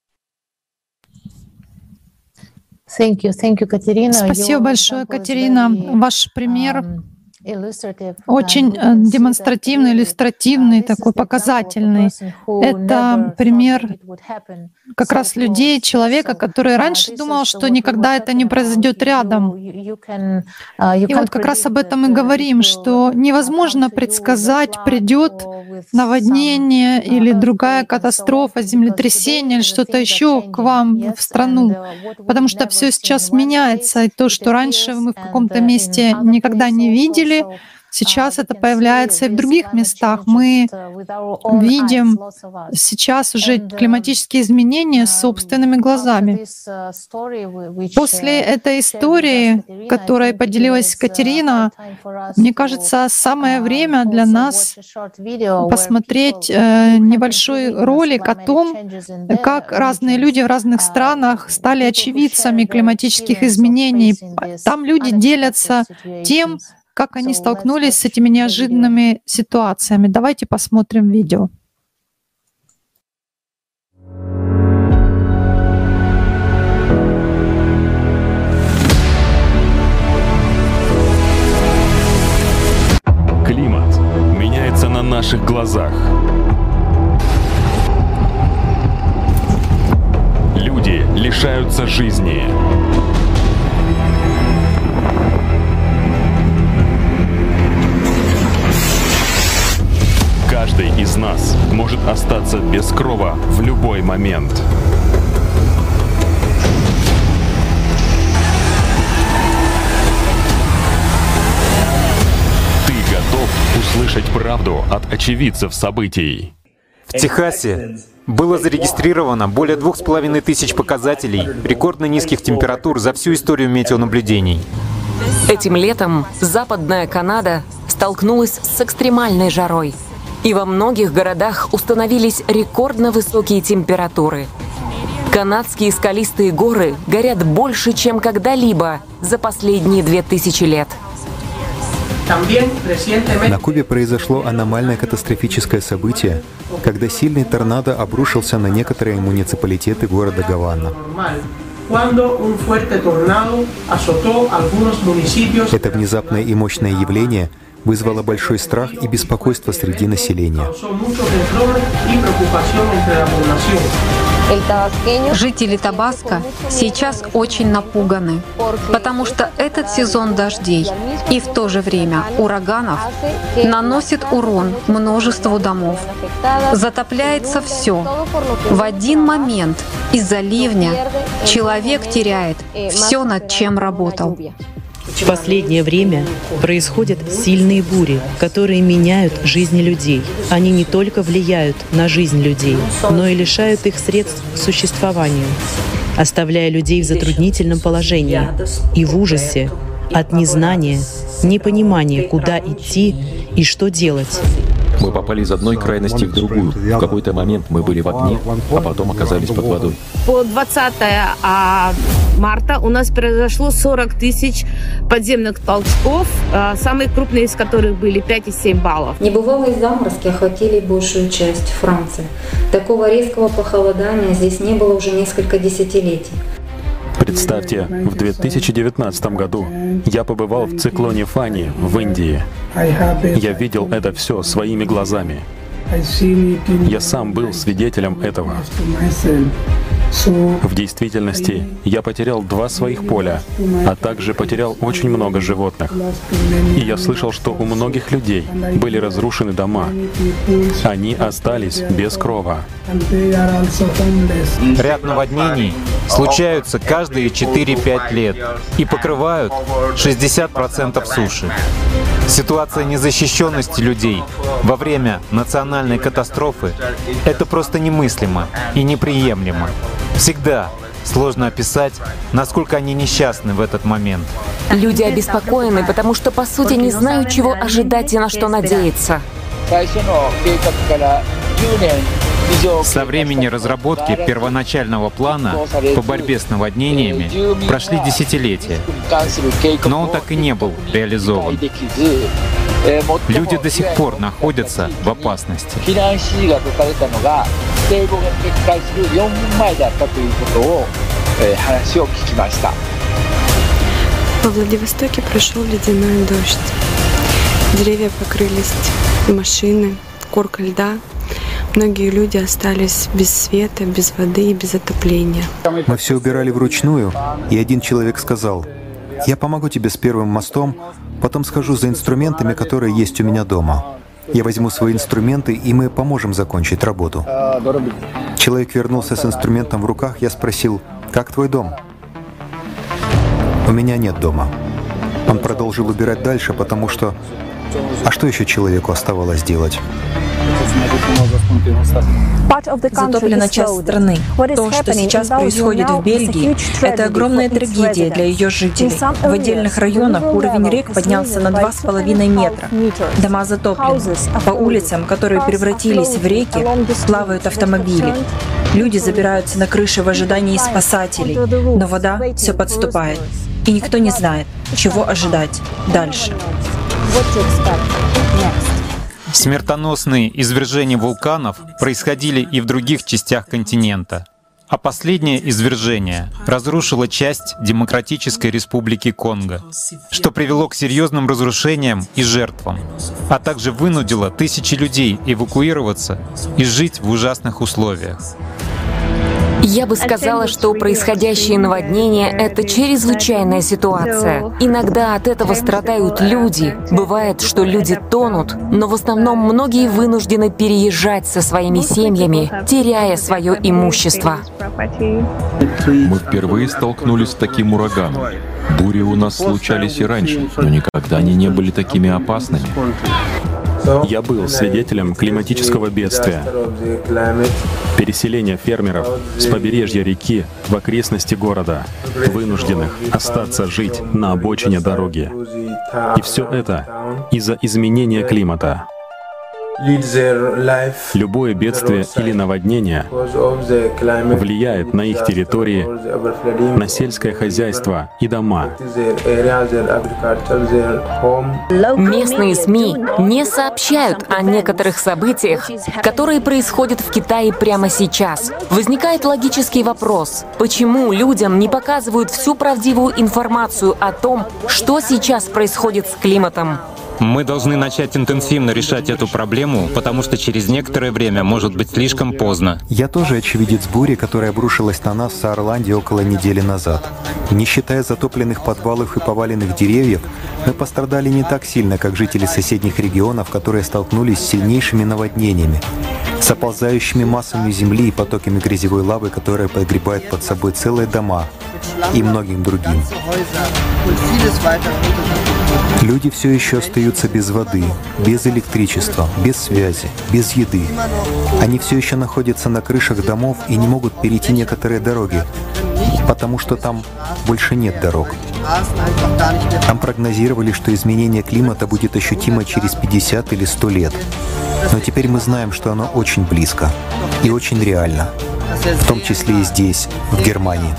Thank you. Thank you, Катерина. Спасибо большое, Катерина. Ваш пример очень демонстративный, иллюстративный, такой показательный. Это пример как раз людей, человека, который раньше думал, что никогда это не произойдет рядом. И вот как раз об этом и говорим, что невозможно предсказать, придет наводнение или другая катастрофа, землетрясение или что-то еще к вам в страну, потому что все сейчас меняется, и то, что раньше мы в каком-то месте никогда не видели, Сейчас это появляется и в других местах. Мы видим сейчас уже климатические изменения собственными глазами. После этой истории, которой поделилась Катерина, мне кажется, самое время для нас посмотреть небольшой ролик о том, как разные люди в разных странах стали очевидцами климатических изменений. Там люди делятся тем, как они столкнулись с этими неожиданными ситуациями. Давайте посмотрим видео. Климат меняется на наших глазах. Люди лишаются жизни. Каждый из нас может остаться без крова в любой момент. Ты готов услышать правду от очевидцев событий? В Техасе было зарегистрировано более двух с половиной тысяч показателей рекордно низких температур за всю историю метеонаблюдений. Этим летом Западная Канада столкнулась с экстремальной жарой. И во многих городах установились рекордно высокие температуры. Канадские скалистые горы горят больше, чем когда-либо за последние две тысячи лет. На Кубе произошло аномальное катастрофическое событие, когда сильный торнадо обрушился на некоторые муниципалитеты города Гавана. Это внезапное и мощное явление вызвало большой страх и беспокойство среди населения. Жители Табаско сейчас очень напуганы, потому что этот сезон дождей и в то же время ураганов наносит урон множеству домов. Затопляется все. В один момент из-за ливня человек теряет все, над чем работал. В последнее время происходят сильные бури, которые меняют жизни людей. Они не только влияют на жизнь людей, но и лишают их средств к существованию, оставляя людей в затруднительном положении и в ужасе от незнания, непонимания, куда идти и что делать. Мы попали из одной крайности в другую. В какой-то момент мы были в огне, а потом оказались под водой. По двадцатое марта у нас произошло сорок тысяч подземных толчков, самые крупные из которых были пять и семь баллов. Небывалые заморозки охватили большую часть Франции. Такого резкого похолодания здесь не было уже несколько десятилетий. Представьте, в две тысячи девятнадцатом году я побывал в циклоне Фани в Индии. Я видел это все своими глазами. Я сам был свидетелем этого. В действительности, я потерял два своих поля, а также потерял очень много животных. И я слышал, что у многих людей были разрушены дома. Они остались без крова. Ряд наводнений случаются каждые четыре-пять лет и покрывают шестьдесят процентов суши. Ситуация незащищенности людей во время национальной катастрофы — это просто немыслимо и неприемлемо. Всегда сложно описать, насколько они несчастны в этот момент. Люди обеспокоены, потому что, по сути, не знают, чего ожидать и на что надеяться. Со времени разработки первоначального плана по борьбе с наводнениями прошли десятилетия, но он так и не был реализован. Люди до сих пор находятся в опасности. Во Владивостоке прошел ледяной дождь. Деревья покрылись, машины, корка льда. Многие люди остались без света, без воды и без отопления. Мы все убирали вручную, и один человек сказал: «Я помогу тебе с первым мостом, потом схожу за инструментами, которые есть у меня дома. Я возьму свои инструменты, и мы поможем закончить работу». Человек вернулся с инструментом в руках, я спросил: «Как твой дом?» «У меня нет дома». Он продолжил убирать дальше, потому что А что еще человеку оставалось делать? Затоплена часть страны. То, что сейчас происходит в Бельгии, это огромная трагедия для ее жителей. В отдельных районах уровень рек поднялся на два с половиной метра. Дома затоплены. По улицам, которые превратились в реки, плавают автомобили. Люди забираются на крыши в ожидании спасателей, но вода все подступает. И никто не знает, чего ожидать дальше. Смертоносные извержения вулканов происходили и в других частях континента. А последнее извержение разрушило часть Демократической Республики Конго, что привело к серьезным разрушениям и жертвам, а также вынудило тысячи людей эвакуироваться и жить в ужасных условиях. Я бы сказала, что происходящее наводнение — это чрезвычайная ситуация. Иногда от этого страдают люди. Бывает, что люди тонут, но в основном многие вынуждены переезжать со своими семьями, теряя свое имущество. Мы впервые столкнулись с таким ураганом. Бури у нас случались и раньше, но никогда они не были такими опасными. Я был свидетелем климатического бедствия. Переселение фермеров с побережья реки в окрестности города, вынужденных остаться жить на обочине дороги. И все это из-за изменения климата. Любое бедствие или наводнение влияет на их территории, на сельское хозяйство и дома. Местные СМИ не сообщают о некоторых событиях, которые происходят в Китае прямо сейчас. Возникает логический вопрос: почему людям не показывают всю правдивую информацию о том, что сейчас происходит с климатом? Мы должны начать интенсивно решать эту проблему, потому что через некоторое время может быть слишком поздно. Я тоже очевидец бури, которая обрушилась на нас в Саарланде около недели назад. Не считая затопленных подвалов и поваленных деревьев, мы пострадали не так сильно, как жители соседних регионов, которые столкнулись с сильнейшими наводнениями, с оползающими массами земли и потоками грязевой лавы, которые подгребают под собой целые дома и многим другим. Люди все еще остаются без воды, без электричества, без связи, без еды. Они все еще находятся на крышах домов и не могут перейти некоторые дороги, потому что там больше нет дорог. Там прогнозировали, что изменение климата будет ощутимо через пятьдесят или сто лет. Но теперь мы знаем, что оно очень близко и очень реально, в том числе и здесь, в Германии.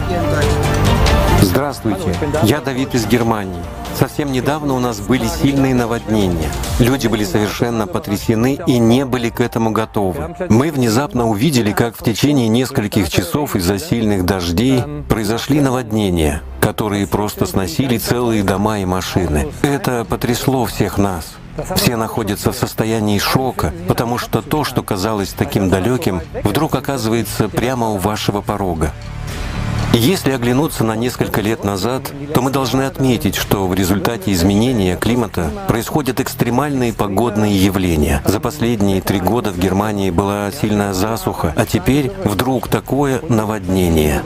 Здравствуйте, я Давид из Германии. Совсем недавно у нас были сильные наводнения. Люди были совершенно потрясены и не были к этому готовы. Мы внезапно увидели, как в течение нескольких часов из-за сильных дождей произошли наводнения, которые просто сносили целые дома и машины. Это потрясло всех нас. Все находятся в состоянии шока, потому что то, что казалось таким далеким, вдруг оказывается прямо у вашего порога. Если оглянуться на несколько лет назад, то мы должны отметить, что в результате изменения климата происходят экстремальные погодные явления. За последние три года в Германии была сильная засуха, а теперь вдруг такое наводнение.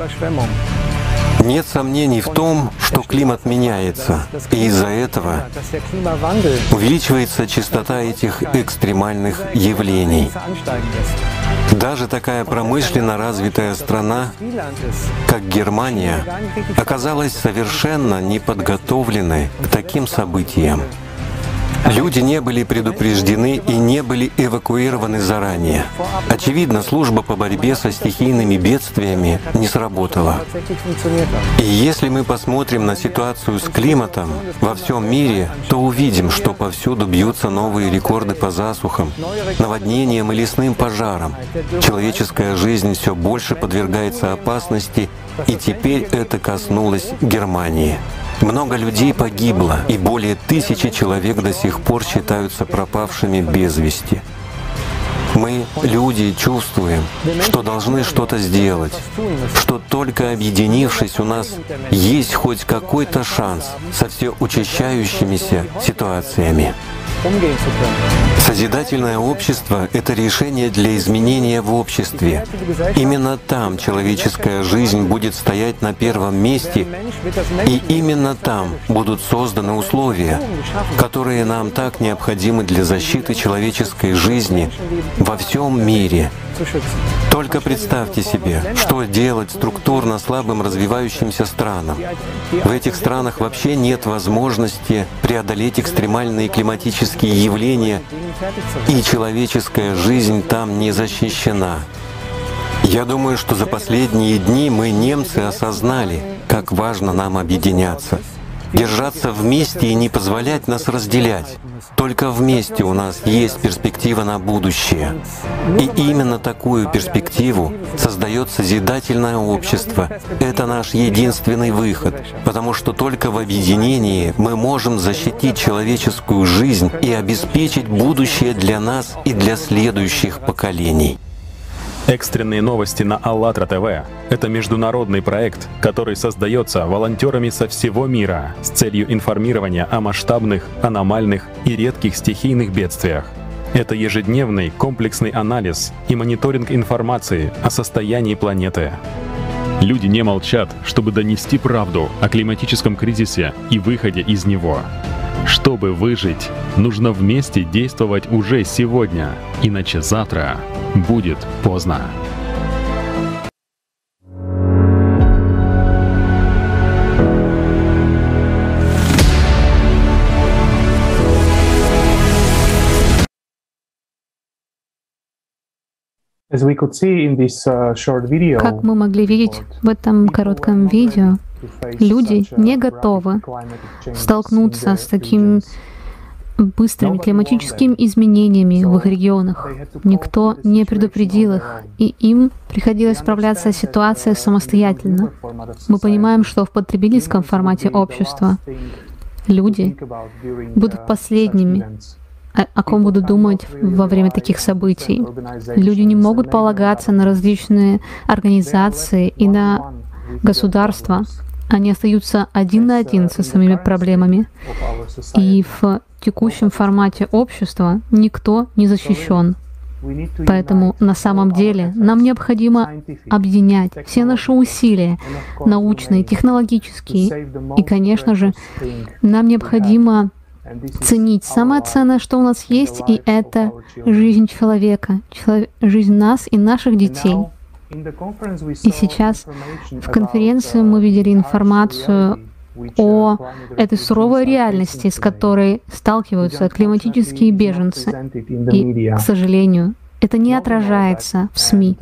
Нет сомнений в том, что климат меняется, и из-за этого увеличивается частота этих экстремальных явлений. Даже такая промышленно развитая страна, как Германия, оказалась совершенно неподготовленной к таким событиям. Люди не были предупреждены и не были эвакуированы заранее. Очевидно, служба по борьбе со стихийными бедствиями не сработала. И если мы посмотрим на ситуацию с климатом во всем мире, то увидим, что повсюду бьются новые рекорды по засухам, наводнениям и лесным пожарам. Человеческая жизнь все больше подвергается опасности, и теперь это коснулось Германии. Много людей погибло, и более тысячи человек до сих пор считаются пропавшими без вести. Мы, люди, чувствуем, что должны что-то сделать, что только объединившись, у нас есть хоть какой-то шанс со все учащающимися ситуациями. Созидательное общество — это решение для изменения в обществе. Именно там человеческая жизнь будет стоять на первом месте, и именно там будут созданы условия, которые нам так необходимы для защиты человеческой жизни во всем мире. Только представьте себе, что делать структурно слабым развивающимся странам. В этих странах вообще нет возможности преодолеть экстремальные климатические явления, и человеческая жизнь там не защищена. Я думаю, что за последние дни мы, немцы, осознали, как важно нам объединяться, держаться вместе и не позволять нас разделять. Только вместе у нас есть перспектива на будущее. И именно такую перспективу создает созидательное общество. Это наш единственный выход, потому что только в объединении мы можем защитить человеческую жизнь и обеспечить будущее для нас и для следующих поколений. Экстренные новости на АЛЛАТРА ТВ — это международный проект, который создается волонтерами со всего мира с целью информирования о масштабных, аномальных и редких стихийных бедствиях. Это ежедневный комплексный анализ и мониторинг информации о состоянии планеты. Люди не молчат, чтобы донести правду о климатическом кризисе и выходе из него. Чтобы выжить, нужно вместе действовать уже сегодня, иначе завтра будет поздно. Как мы могли видеть в этом коротком видео, люди не готовы столкнуться с такими быстрыми климатическими изменениями в их регионах. Никто не предупредил их, и им приходилось справляться с ситуацией самостоятельно. Мы понимаем, что в потребительском формате общества люди будут последними, о, о ком будут думать во время таких событий. Люди не могут полагаться на различные организации и на государства. Они остаются один на один со своими проблемами. И в текущем формате общества никто не защищен. Поэтому на самом деле нам необходимо объединять все наши усилия, научные, технологические. И, конечно же, нам необходимо ценить самое ценное, что у нас есть, и это жизнь человека, человек, жизнь нас и наших детей. И сейчас в конференции мы видели информацию о этой суровой реальности, с которой сталкиваются климатические беженцы. И, к сожалению, это не отражается в СМИ.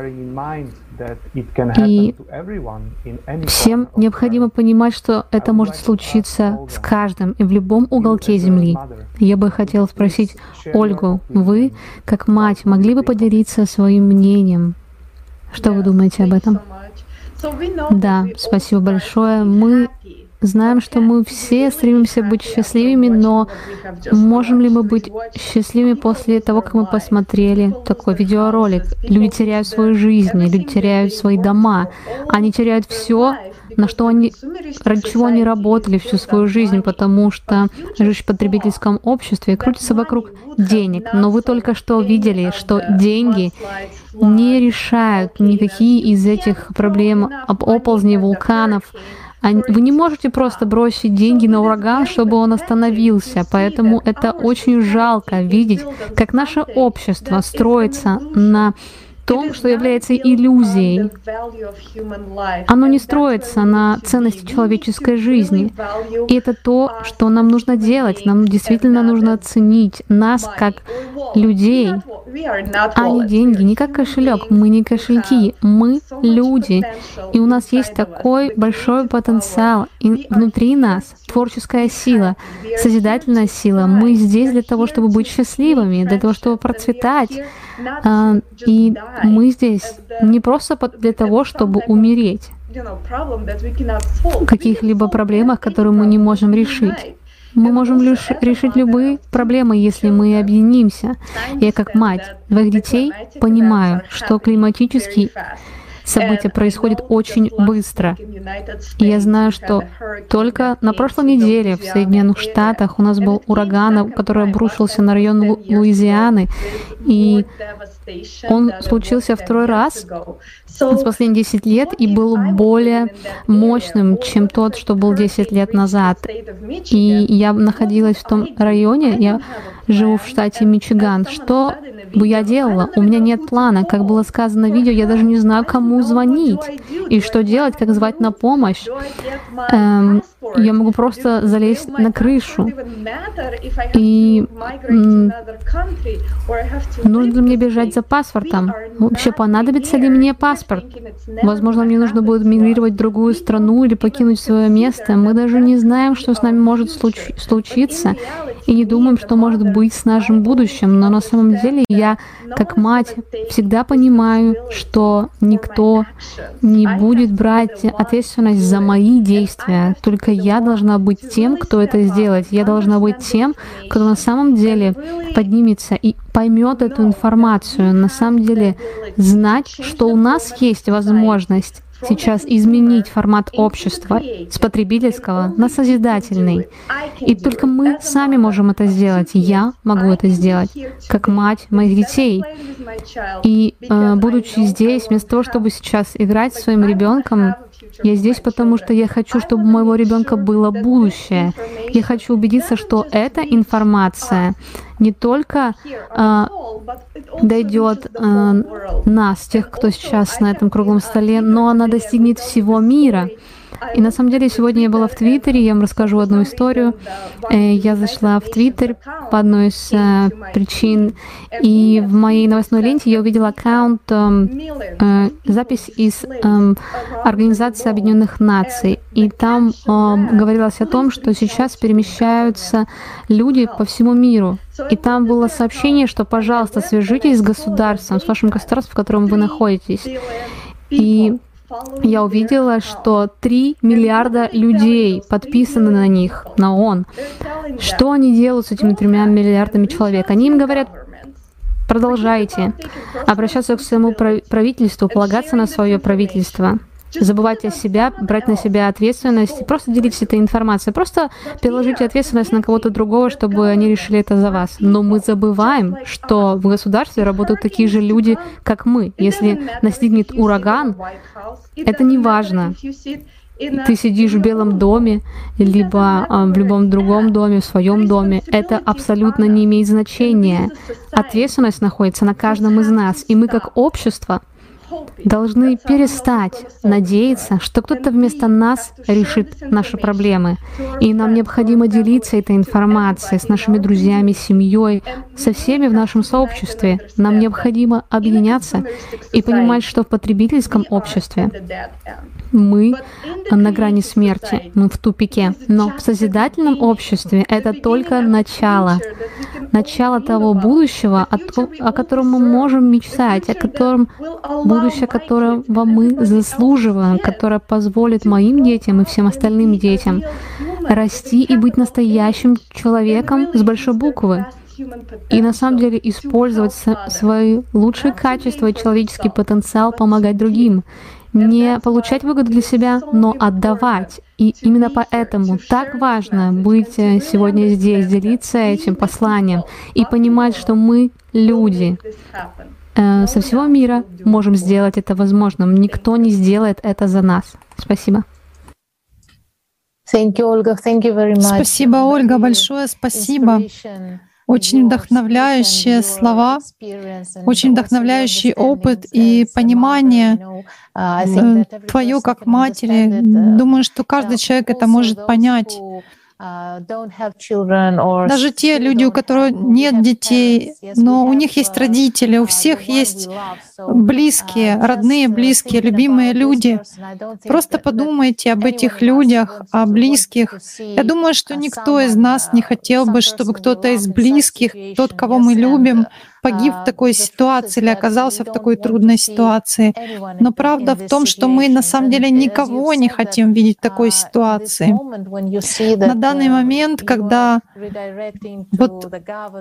И всем необходимо понимать, что это может случиться с каждым и в любом уголке Земли. Я бы хотела спросить Ольгу, вы, как мать, могли бы поделиться своим мнением? Что вы думаете об этом? Да, спасибо большое. Мы знаем, что мы все стремимся быть счастливыми, но можем ли мы быть счастливыми после того, как мы посмотрели такой видеоролик? Люди теряют свои жизни, люди теряют свои дома, они теряют все, на что они, ради чего они работали всю свою жизнь, потому что жизнь в потребительском обществе крутится вокруг денег. Но вы только что видели, что деньги не решают никакие из этих проблем об оползни вулканов. Вы не можете просто бросить деньги на ураган, чтобы он остановился. Поэтому это очень жалко видеть, как наше общество строится на том, что является иллюзией. Оно не строится на ценности человеческой жизни. И это то, что нам нужно делать. Нам действительно нужно ценить нас как людей, а не деньги, не как кошелек. Мы не кошельки, мы люди. И у нас есть такой большой потенциал. И внутри нас творческая сила, созидательная сила. Мы здесь для того, чтобы быть счастливыми, для того, чтобы процветать. И мы здесь не просто для того, чтобы умереть в каких-либо проблемах, которые мы не можем решить. Мы можем лишь решить любые проблемы, если мы объединимся. Я как мать двоих детей понимаю, что климатические события происходят очень быстро. И я знаю, что только на прошлой неделе в Соединенных Штатах у нас был ураган, который обрушился на район Лу- Луизианы, и он случился второй раз за последние десять лет и был более мощным, чем тот, что был десять лет назад. И я находилась в том районе, я живу в штате Мичиган. Что бы я делала? У меня нет плана. Как было сказано в видео, я даже не знаю, кому звонить и что делать, как звать на помощь. Эм, я могу просто залезть на крышу. И м, нужно ли мне бежать за паспортом? Вообще, понадобится ли мне паспорт? Возможно, мне нужно будет мигрировать в другую страну или покинуть свое место. Мы даже не знаем, что с нами может случ- случиться, и не думаем, что может быть с нашим будущим. Но на самом деле я, как мать, всегда понимаю, что никто не будет брать ответственность за мои действия. Только я должна быть тем, кто это сделает. Я должна быть тем, кто на самом деле поднимется и поймет эту информацию. На самом деле знать, что у нас есть возможность сейчас изменить формат общества с потребительского на созидательный. И только мы сами можем это сделать. Я могу это сделать, как мать моих детей. И э, будучи здесь, вместо того, чтобы сейчас играть со своим ребенком, я здесь, потому что я хочу, чтобы у моего ребенка было будущее. Я хочу убедиться, что эта информация не только э, дойдет э, нас, тех, кто сейчас на этом круглом столе, но она достигнет всего мира. И на самом деле сегодня я была в Твиттере, я вам расскажу одну историю. Я зашла в Твиттер по одной из э, причин, и в моей новостной ленте я увидела аккаунт, э, э, запись из э, Организации Объединенных Наций. И там э, говорилось о том, что сейчас перемещаются люди по всему миру. И там было сообщение, что, пожалуйста, свяжитесь с государством, с вашим государством, в котором вы находитесь. И я увидела, что три миллиарда людей подписаны на них, на ООН. Что они делают с этими тремя миллиардами человек? Они им говорят: продолжайте обращаться к своему правительству, полагаться на свое правительство, забывать о себе, брать на себя ответственность, просто делитесь этой информацией, просто переложите ответственность на кого-то другого, чтобы они решили это за вас. Но мы забываем, что в государстве работают такие же люди, как мы. Если настигнет ураган, это не важно. Ты сидишь в Белом доме, либо а, в любом другом доме, в своем доме. Это абсолютно не имеет значения. Ответственность находится на каждом из нас. И мы, как общество, должны перестать надеяться, что кто-то вместо нас решит наши проблемы. И нам необходимо делиться этой информацией с нашими друзьями, семьей, со всеми в нашем сообществе. Нам необходимо объединяться и понимать, что в потребительском обществе мы на грани смерти, мы в тупике. Но в созидательном обществе это только начало. Начало того будущего, о котором мы можем мечтать, о котором будущее, которого мы заслуживаем, которое позволит моим детям и всем остальным детям расти и быть настоящим человеком с большой буквы. И на самом деле использовать свои лучшие качества и человеческий потенциал, помогать другим. Не получать выгоду для себя, но отдавать. И именно поэтому так важно быть сегодня здесь, делиться этим посланием и понимать, что мы, люди, э, со всего мира можем сделать это возможным. Никто не сделает это за нас. Спасибо. Спасибо, Ольга, большое спасибо. Очень вдохновляющие слова, очень вдохновляющий опыт и понимание твое как матери. Думаю, что каждый человек это может понять. Даже те люди, у которых нет детей, но у них есть родители, у всех есть близкие, родные, близкие, любимые люди. Просто подумайте об этих людях, о близких. Я думаю, что никто из нас не хотел бы, чтобы кто-то из близких, тот, кого мы любим, погиб в такой ситуации или оказался в такой трудной ситуации. Но правда в том, что мы на самом деле никого не хотим видеть в такой ситуации. На данный момент, когда вот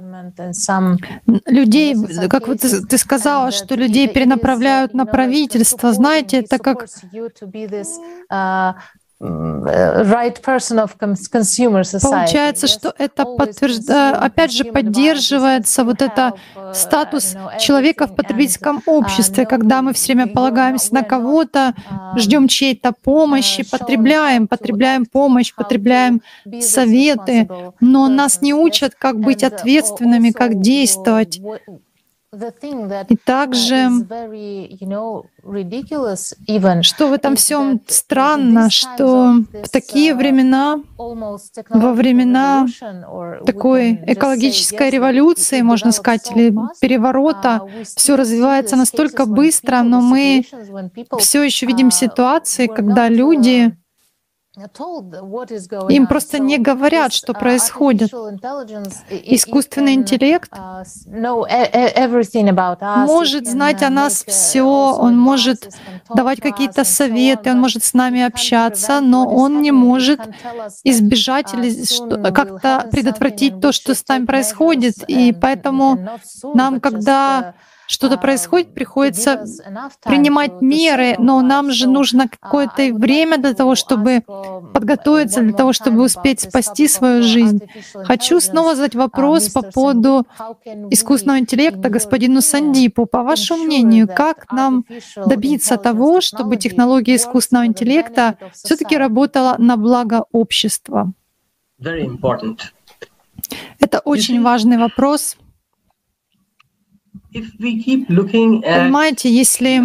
людей, как вот ты, ты сказала, что людей перенаправляют на правительство, знаете, это как получается, что это подтверждает, опять же, поддерживается вот это статус человека в потребительском обществе, когда мы все время полагаемся на кого-то, ждем чьей-то помощи, потребляем, потребляем помощь, потребляем советы, но нас не учат, как быть ответственными, как действовать. И также, что в этом всем странно, что в такие времена, во времена такой экологической революции, можно сказать, или переворота, все развивается настолько быстро, но мы все еще видим ситуации, когда люди им просто не говорят, что происходит. Искусственный интеллект может знать о нас все, он может давать какие-то советы, он может с нами общаться, но он не может избежать или как-то предотвратить то, что с нами происходит. И поэтому нам, когда что-то происходит, приходится принимать меры, но нам же нужно какое-то время для того, чтобы подготовиться, для того, чтобы успеть спасти свою жизнь. Хочу снова задать вопрос по поводу искусственного интеллекта господину Сандипу. По вашему мнению, как нам добиться того, чтобы технология искусственного интеллекта все-таки работала на благо общества? Это очень важный вопрос. Понимаете, если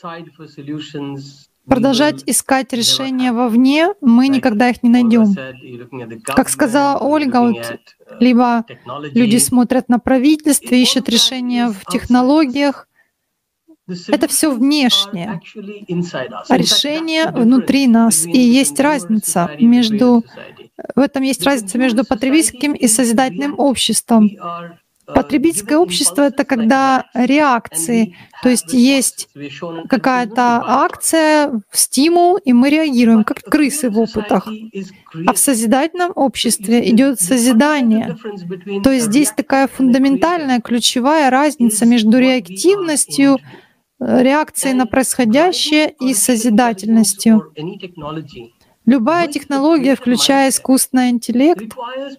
продолжать искать решения вовне, мы никогда их не найдем. Как сказала Ольга, вот, либо люди смотрят на правительство, ищут решения в технологиях. Это все внешнее, а решение внутри нас. И есть разница между... В этом есть разница между потребительским и созидательным обществом. Потребительское общество — это когда реакции, то есть есть какая-то акция, стимул, и мы реагируем, как крысы в опытах. А в созидательном обществе идет созидание. То есть здесь такая фундаментальная, ключевая разница между реактивностью, реакцией на происходящее и созидательностью. Любая технология, включая искусственный интеллект,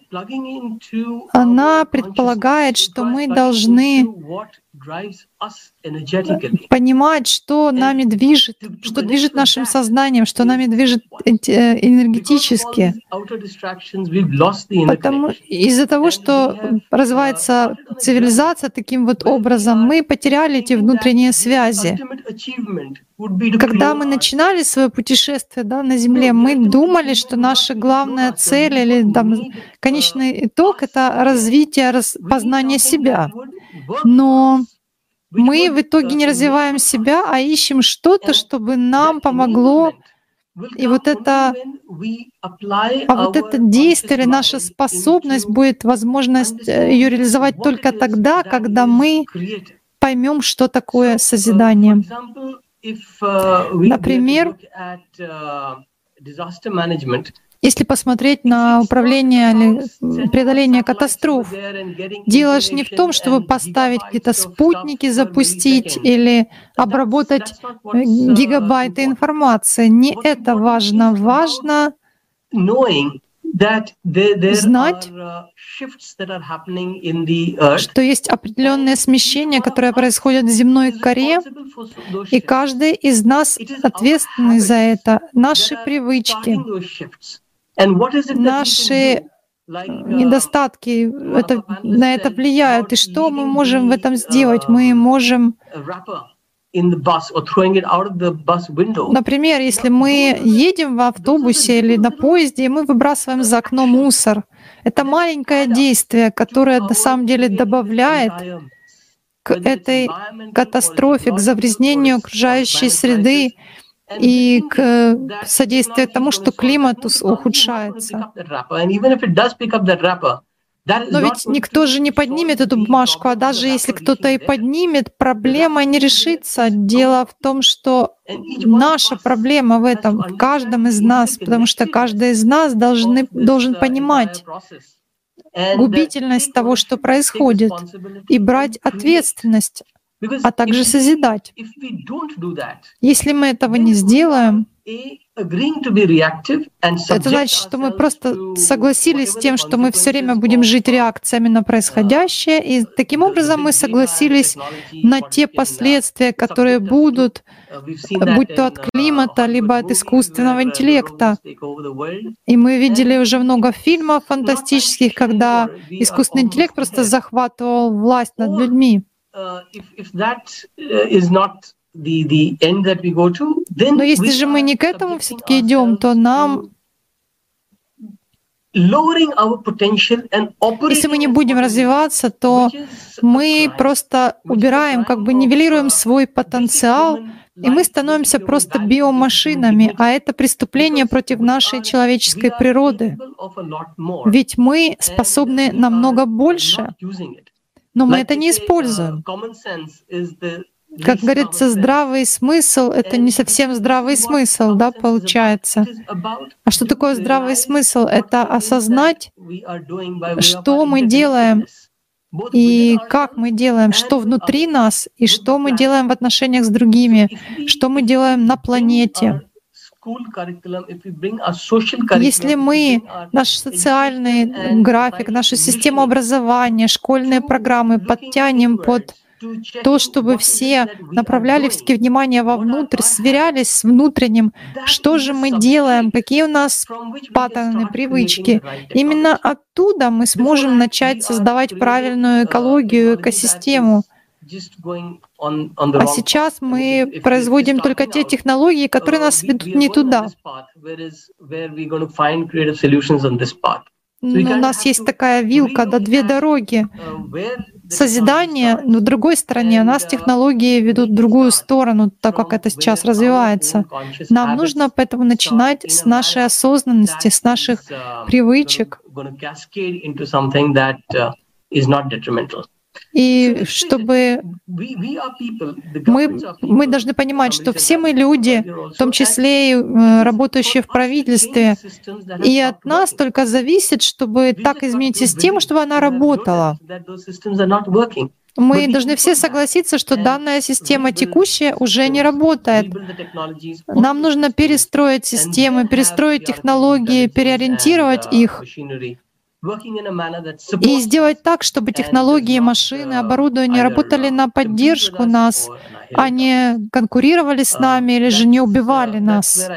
она предполагает, что мы должны понимать, что нами движет, что движет нашим сознанием, что нами движет энергетически. Потому из-за того, что развивается цивилизация таким вот образом, мы потеряли эти внутренние связи. Когда мы начинали свое путешествие, да, на Земле, мы думали, что наша главная цель или там, конечный итог — это развитие, познание себя. Но мы в итоге не развиваем себя, а ищем что-то, чтобы нам помогло. И вот это, а вот это действие или наша способность будет возможность ее реализовать только тогда, когда мы поймем, что такое созидание. Например, если посмотреть на управление или преодоление катастроф, дело же не в том, чтобы поставить где-то спутники, запустить или обработать гигабайты информации. Не это важно. Важно знать, что есть определенные смещения, которые происходят в земной коре, и каждый из нас ответственный за это. Наши привычки, наши недостатки это, на это влияют. И что мы можем в этом сделать? Мы можем... Например, если мы едем в автобусе или на поезде, и мы выбрасываем за окно мусор, это маленькое действие, которое на самом деле добавляет к этой катастрофе, к загрязнению окружающей среды и к содействию тому, что климат ухудшается. Но ведь никто же не поднимет эту бумажку, а даже если кто-то и поднимет, проблема не решится. Дело в том, что наша проблема в этом, в каждом из нас, потому что каждый из нас должны, должен понимать губительность того, что происходит, и брать ответственность, а также созидать. Если мы этого не сделаем, это значит, что мы просто согласились с тем, что мы все время будем жить реакциями на происходящее, и таким образом мы согласились на те последствия, которые будут, будь то от климата, либо от искусственного интеллекта. И мы видели уже много фильмов фантастических, когда искусственный интеллект просто захватывал власть над людьми. Но если же мы не к этому все-таки идем, то нам, если мы не будем развиваться, то мы просто убираем, как бы нивелируем свой потенциал, и мы становимся просто биомашинами, а это преступление против нашей человеческой природы. Ведь мы способны намного больше, но мы это не используем. Как говорится, здравый смысл — это не совсем здравый смысл, да, получается. А что такое здравый смысл? Это осознать, что мы делаем и как мы делаем, что внутри нас и что мы делаем в отношениях с другими, что мы делаем на планете. Если мы наш социальный график, нашу систему образования, школьные программы подтянем под то, чтобы все направляли все внимание вовнутрь, сверялись с внутренним, что же мы делаем, какие у нас паттерны, привычки. Именно оттуда мы сможем начать создавать правильную экологию, экосистему. А сейчас мы производим только те технологии, которые нас ведут не туда. Но у нас есть такая вилка, да, две дороги. Созидание, но в другой стороне у нас технологии ведут в другую сторону, так как это сейчас развивается. Нам нужно поэтому начинать с нашей осознанности, с наших привычек. И чтобы мы, мы должны понимать, что все мы люди, в том числе и работающие в правительстве, и от нас только зависит, чтобы так изменить систему, чтобы она работала. Мы должны все согласиться, что данная система текущая уже не работает. Нам нужно перестроить системы, перестроить технологии, переориентировать их. И сделать так, чтобы технологии, машины, оборудование работали на поддержку нас, а не конкурировали с нами или же не убивали нас.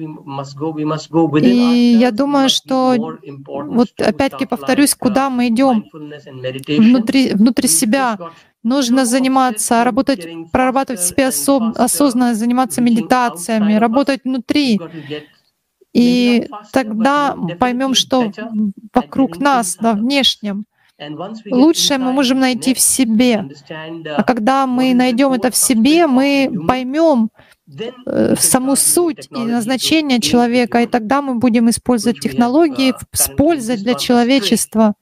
И я думаю, что, вот опять-таки повторюсь, куда мы идем? Внутри, внутри себя. Нужно заниматься, работать, прорабатывать в себе особ, осознанно, заниматься медитациями, работать внутри. И тогда поймем, что вокруг нас, на внешнем, лучшее мы можем найти в себе. А когда мы найдем это в себе, мы поймем саму суть и назначение человека, и тогда мы будем использовать технологии с пользой для человечества,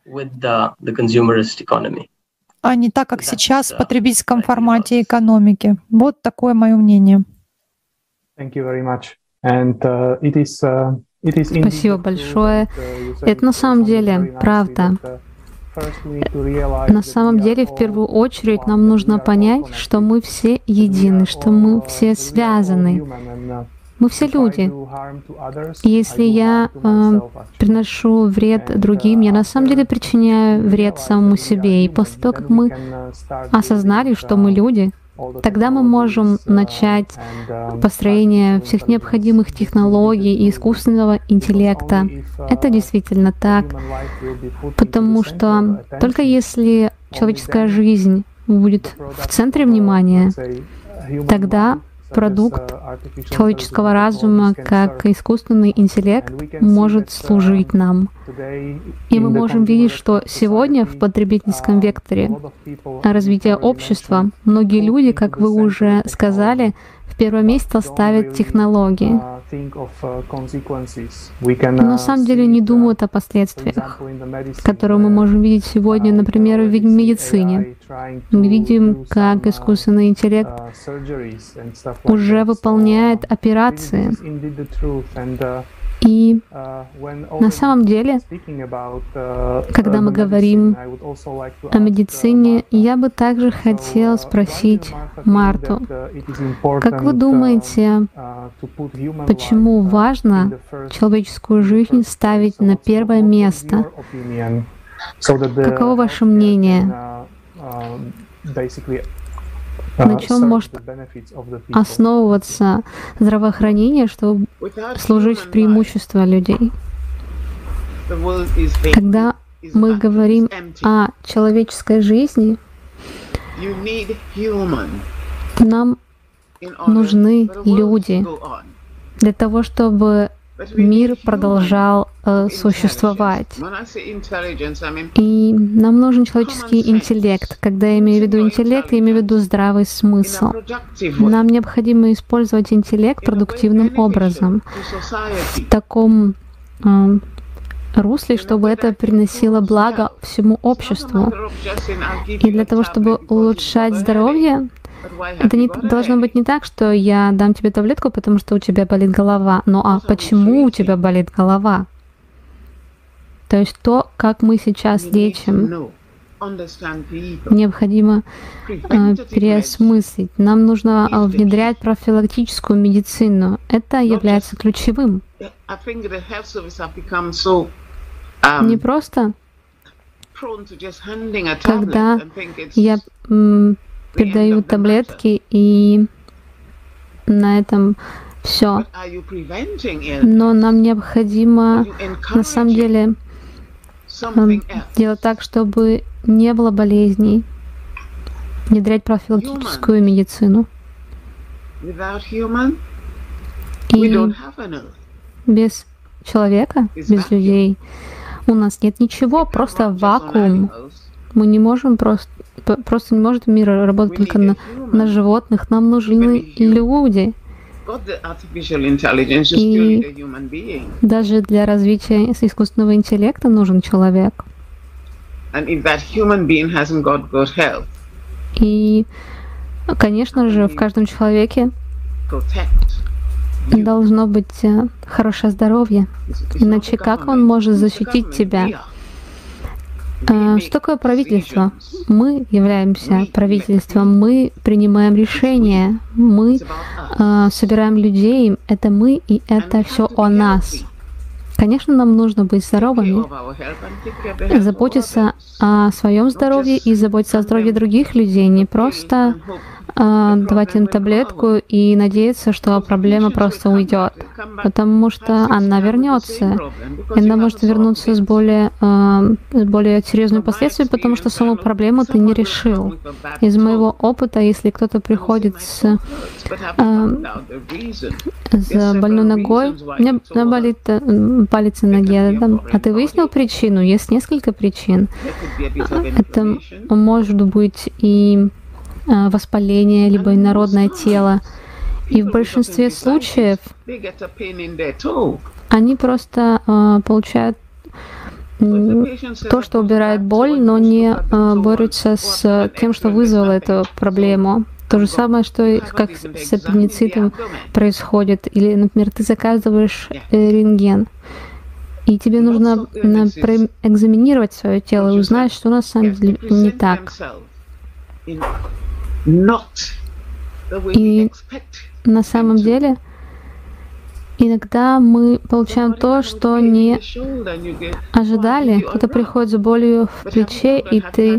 а не так, как сейчас в потребительском формате экономики. Вот такое мое мнение. Спасибо большое. Это на самом деле правда. На самом деле, в первую очередь, нам нужно понять, что мы все едины, что мы все связаны. Мы все люди. Если я э, приношу вред другим, я на самом деле причиняю вред самому себе. И после того, как мы осознали, что мы люди, тогда мы можем начать построение всех необходимых технологий и искусственного интеллекта. Это действительно так, потому что только если человеческая жизнь будет в центре внимания, тогда продукт человеческого разума, как искусственный интеллект, может служить нам. И мы можем видеть, что сегодня в потребительском векторе развития общества многие люди, как вы уже сказали, в первое место ставят технологии. на самом деле не думают о последствиях, которые мы можем видеть сегодня, например, в медицине. Мы видим, как искусственный интеллект уже выполняет операции. И на самом деле, когда мы говорим о медицине, я бы также хотела спросить Марту, как вы думаете, почему важно человеческую жизнь ставить на первое место? Каково ваше мнение? На чем может основываться здравоохранение, чтобы служить в преимущество людей? Когда мы говорим о человеческой жизни, нам нужны люди для того, чтобы мир продолжал э, существовать. И нам нужен человеческий интеллект. Когда я имею в виду интеллект, я имею в виду здравый смысл. Нам необходимо использовать интеллект продуктивным образом, в таком э, русле, чтобы это приносило благо всему обществу. И для того, чтобы улучшать здоровье, это не, должно быть не так, что я дам тебе таблетку, потому что у тебя болит голова. Ну а почему у тебя болит голова? То есть то, как мы сейчас лечим, необходимо э, переосмыслить. Нам нужно э, внедрять профилактическую медицину. Это является ключевым. Не просто, когда я м, передаю таблетки и на этом все. Но нам необходимо на самом деле делать так, чтобы не было болезней, внедрять профилактическую медицину. И без человека, без людей у нас нет ничего, просто вакуум. Мы не можем просто, просто не может мир работать только на, на животных. Нам нужны люди. И даже для развития искусственного интеллекта нужен человек. И, конечно же, в каждом человеке должно быть хорошее здоровье. Иначе как он может защитить тебя? Что такое правительство? Мы являемся правительством, мы принимаем решения, мы э, собираем людей, это мы и это все о нас. Конечно, нам нужно быть здоровыми, заботиться о своем здоровье и заботиться о здоровье других людей, не просто э, давать им таблетку и надеяться, что проблема просто уйдет, потому что она вернется. И она может вернуться с более, э, с более серьезными последствиями, потому что саму проблему ты не решил. Из моего опыта, если кто-то приходит с, э, с больной ногой, у меня болит э, палец на ноге, а ты выяснил причину? Есть несколько причин. Это может быть и воспаление, либо инородное тело. И в большинстве случаев они просто э, получают э, то, что убирает боль, но не э, борются с тем, что вызвало эту проблему. То же самое, что и как с аппендицитом происходит. Или, например, ты заказываешь э, рентген, и тебе нужно э, проэкзаминировать свое тело и узнать, что на самом деле не так. И на самом деле иногда мы получаем то, что не ожидали. Кто-то приходит с болью в плече, и ты,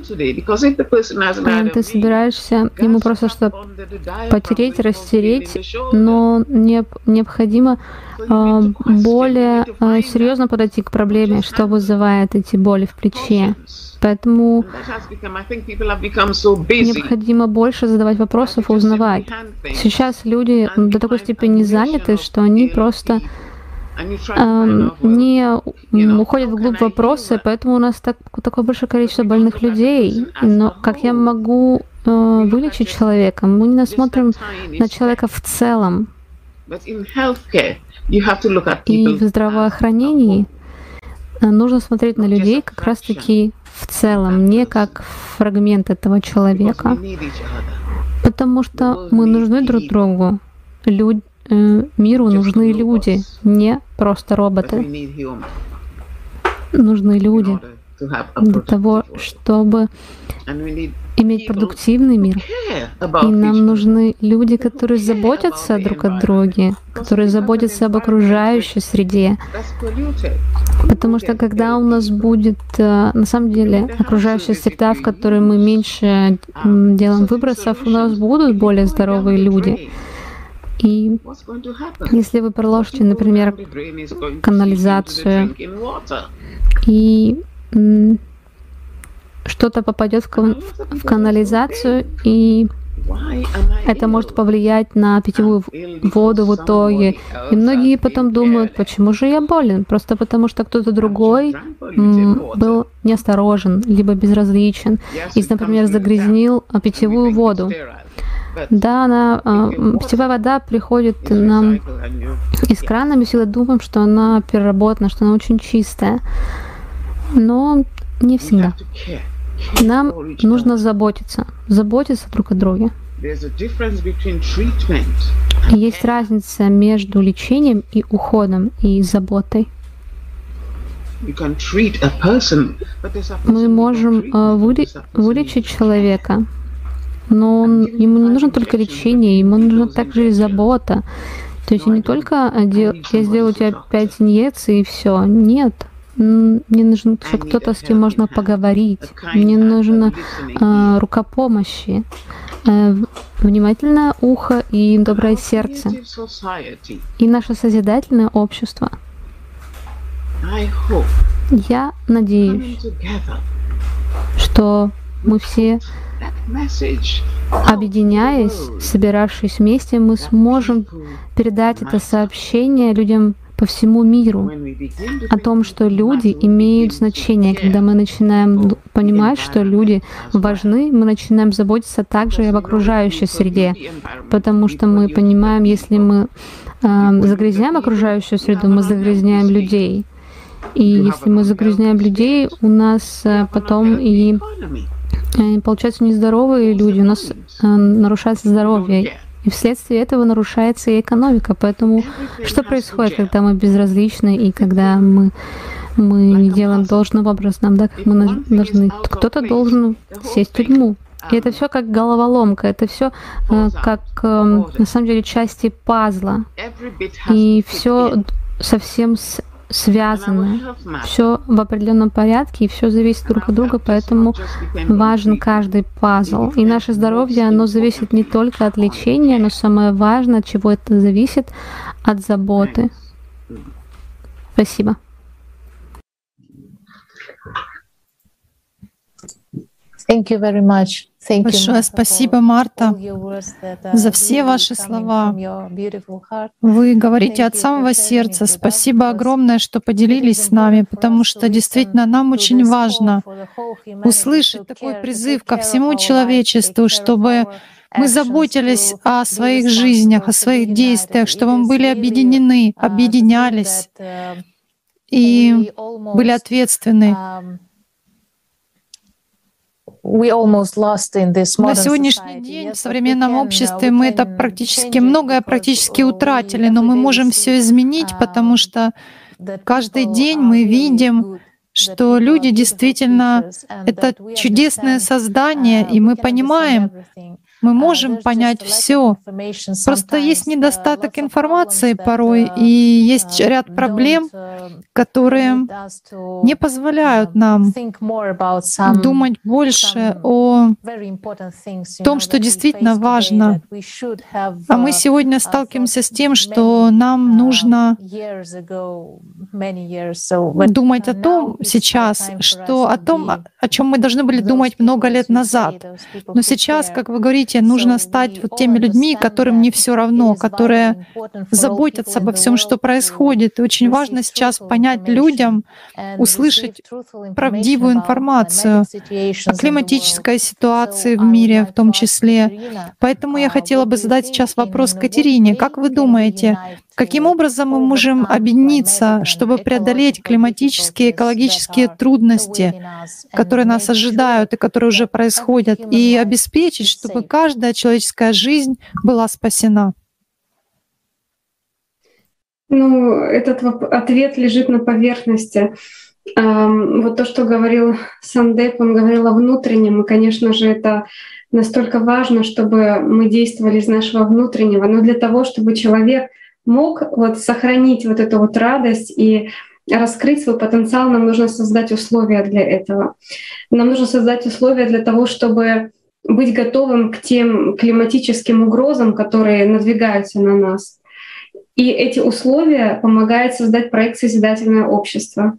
ты собираешься ему просто что потереть, растереть, но не, необходимо э, более э, серьезно подойти к проблеме, что вызывает эти боли в плече. Поэтому необходимо больше задавать вопросов и узнавать. Сейчас люди до такой степени заняты, что они просто э, не уходят вглубь вопроса, поэтому у нас так, такое большое количество больных людей. Но как я могу э, вылечить человека? Мы не смотрим на человека в целом. И в здравоохранении нужно смотреть на людей как раз-таки в целом, не как фрагмент этого человека. Потому что мы нужны друг другу. Люд... Миру нужны люди, не просто роботы. Нужны люди для того, чтобы иметь продуктивный мир. И нам нужны люди, которые заботятся друг о друге, которые заботятся об окружающей среде. Потому что когда у нас будет, на самом деле, окружающая среда, в которой мы меньше делаем выбросов, у нас будут более здоровые люди. И если вы проложите, например, канализацию, и что-то попадет в, кан в канализацию, и это может повлиять на питьевую воду в итоге. И многие потом думают, почему же я болен? Просто потому, что кто-то другой был неосторожен, либо безразличен, и, например, загрязнил питьевую воду. Да, она, э, питьевая вода приходит нам из крана, мы всегда думаем, что она переработана, что она очень чистая. Но не всегда. Нам нужно заботиться, заботиться друг о друге. Есть разница между лечением и уходом, и заботой. Мы можем э, вылечить человека, но он, ему не нужно только лечение, ему нужна также и забота. То есть не только я сделаю тебе пять инъекций и все. Нет. Мне нужен кто-то, с кем можно поговорить. Мне нужно э, рука помощи, э, внимательное ухо и доброе сердце. И наше созидательное общество. Я надеюсь, что мы все, объединяясь, собиравшись вместе, мы сможем передать это сообщение людям по всему миру о том, что люди имеют значение. Когда мы начинаем понимать, что люди важны, мы начинаем заботиться также и об окружающей среде, потому что мы понимаем, если мы э, загрязняем окружающую среду, мы загрязняем людей. И если мы загрязняем людей, у нас э, потом и э, получаются нездоровые люди, у нас э, нарушается здоровье. И вследствие этого нарушается и экономика. Поэтому что происходит, когда мы безразличны и когда мы, мы не делаем должным образом, да, как мы должны? Кто-то должен сесть в тюрьму. И это все как головоломка, это все э, как э, на самом деле части пазла. И все совсем с связано, все в определенном порядке, и все зависит друг от друга, поэтому важен каждый пазл. И наше здоровье, оно зависит не только от лечения, но самое важное, от чего это зависит, от заботы. Спасибо. Thank you very much. Thank Большое you, спасибо, Марта, за все ваши слова. Вы говорите от самого сердца. Спасибо огромное, что поделились с нами, потому что действительно нам очень важно услышать такой призыв ко всему человечеству, чтобы мы заботились о своих жизнях, о своих действиях, чтобы мы были объединены, объединялись и были ответственны. На сегодняшний день в современном обществе мы это практически, многое практически утратили, но мы можем все изменить, потому что каждый день мы видим, что люди действительно — это чудесное создание, и мы понимаем, мы можем понять все. Просто есть недостаток информации порой, и есть ряд проблем, которые не позволяют нам думать больше о том, что действительно важно. А мы сегодня сталкиваемся с тем, что нам нужно думать о том сейчас, что о том, о чем мы должны были думать много лет назад. Но сейчас, как вы говорите, нужно стать вот теми людьми, которым не все равно, которые заботятся обо всем, что происходит. И очень важно сейчас понять людям, услышать правдивую информацию о климатической ситуации в мире в том числе. Поэтому я хотела бы задать сейчас вопрос Катерине. Как вы думаете, каким образом мы можем объединиться, чтобы преодолеть климатические, экологические трудности, которые нас ожидают и которые уже происходят, и обеспечить, чтобы каждая человеческая жизнь была спасена? Ну, этот ответ лежит на поверхности. Вот то, что говорил Сандеп, он говорил о внутреннем, и, конечно же, это настолько важно, чтобы мы действовали из нашего внутреннего. Но для того, чтобы человек мог вот сохранить вот эту вот радость и раскрыть свой потенциал, нам нужно создать условия для этого. Нам нужно создать условия для того, чтобы быть готовым к тем климатическим угрозам, которые надвигаются на нас. И эти условия помогают создать проект «Созидательное общество».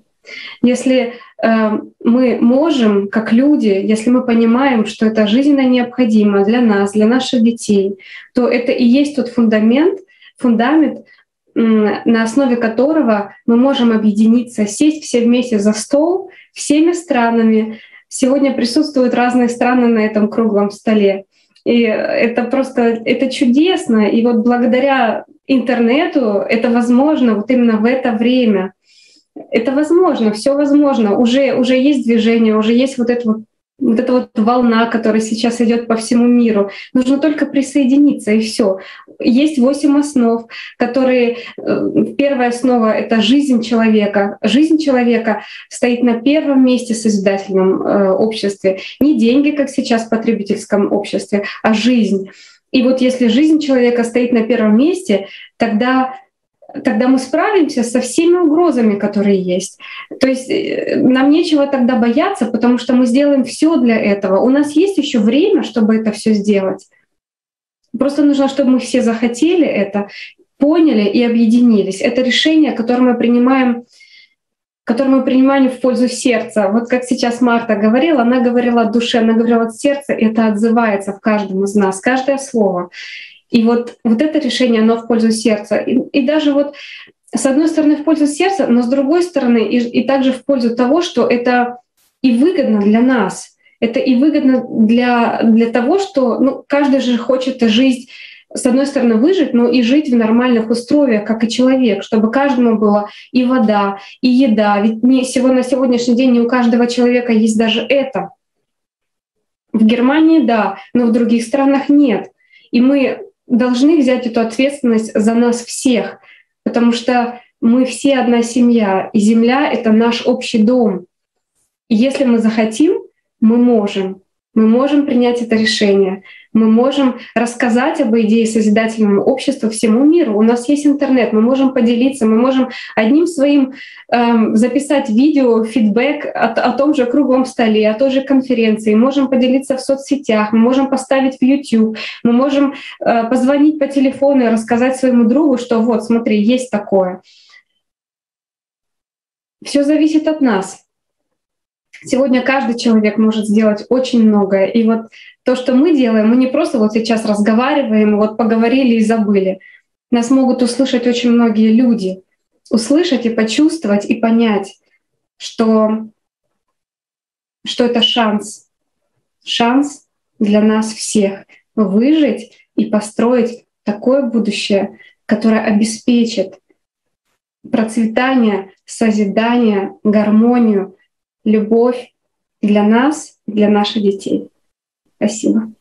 Если э, мы можем, как люди, если мы понимаем, что это жизненно необходимо для нас, для наших детей, то это и есть тот фундамент, фундамент, э, на основе которого мы можем объединиться, сесть все вместе за стол всеми странами. Сегодня присутствуют разные страны на этом круглом столе. И это просто это чудесно. И вот благодаря интернету это возможно вот именно в это время. Это возможно, все возможно. Уже, уже есть движение, уже есть вот эта вот, вот эта вот волна, которая сейчас идет по всему миру. Нужно только присоединиться, и все. Есть восемь основ, которые... Первая основа — это жизнь человека. Жизнь человека стоит на первом месте в созидательном э, обществе. Не деньги, как сейчас в потребительском обществе, а жизнь. И вот если жизнь человека стоит на первом месте, тогда... тогда мы справимся со всеми угрозами, которые есть. То есть нам нечего тогда бояться, потому что мы сделаем все для этого. У нас есть еще время, чтобы это все сделать. Просто нужно, чтобы мы все захотели это, поняли и объединились. Это решение, которое мы принимаем, которое мы принимаем в пользу сердца. Вот как сейчас Марта говорила, она говорила от души, она говорила от сердца, и это отзывается в каждом из нас, каждое слово. И вот, вот это решение, оно в пользу сердца. И, и даже вот с одной стороны в пользу сердца, но с другой стороны и, и также в пользу того, что это и выгодно для нас. Это и выгодно для, для того, что ну, каждый же хочет жить, с одной стороны, выжить, но и жить в нормальных условиях, как и человек, чтобы каждому была и вода, и еда. Ведь не, сегодня, на сегодняшний день не у каждого человека есть даже это. В Германии — да, но в других странах нет. И мы должны взять эту ответственность за нас всех, потому что мы все одна семья, и земля — это наш общий дом. И если мы захотим, мы можем. Мы можем принять это решение. Мы можем рассказать об идее созидательного общества всему миру. У нас есть интернет, мы можем поделиться, мы можем одним своим эм, записать видео, фидбэк о, о том же круглом столе, о той же конференции, можем поделиться в соцсетях, мы можем поставить в YouTube, мы можем э, позвонить по телефону и рассказать своему другу, что вот, смотри, есть такое. Все зависит от нас. Сегодня каждый человек может сделать очень многое. И вот то, что мы делаем, мы не просто вот сейчас разговариваем, вот поговорили и забыли. Нас могут услышать очень многие люди. Услышать и почувствовать, и понять, что, что это шанс. Шанс для нас всех выжить и построить такое будущее, которое обеспечит процветание, созидание, гармонию, любовь для нас, для наших детей. Спасибо.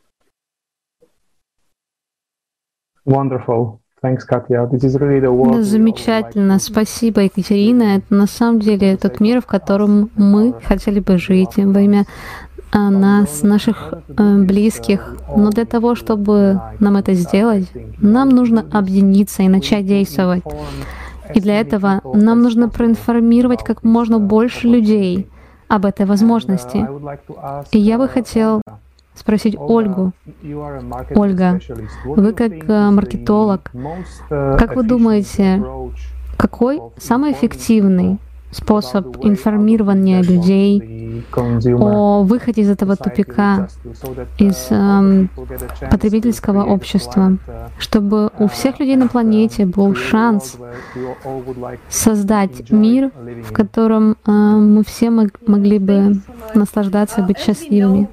Wonderful. Thanks, Katya. This is really the world. Замечательно. Спасибо, Екатерина. Это на самом деле тот мир, в котором мы хотели бы жить во имя нас, наших близких. Но для того, чтобы нам это сделать, нам нужно объединиться и начать действовать. И для этого нам нужно проинформировать как можно больше людей об этой возможности. И я бы хотел спросить Ольгу. Ольга, вы как маркетолог, как вы думаете, какой самый эффективный способ информирования людей о выходе из этого тупика, из э, потребительского общества, чтобы у всех людей на планете был шанс создать мир, в котором э, мы все мог, могли бы наслаждаться, быть счастливыми.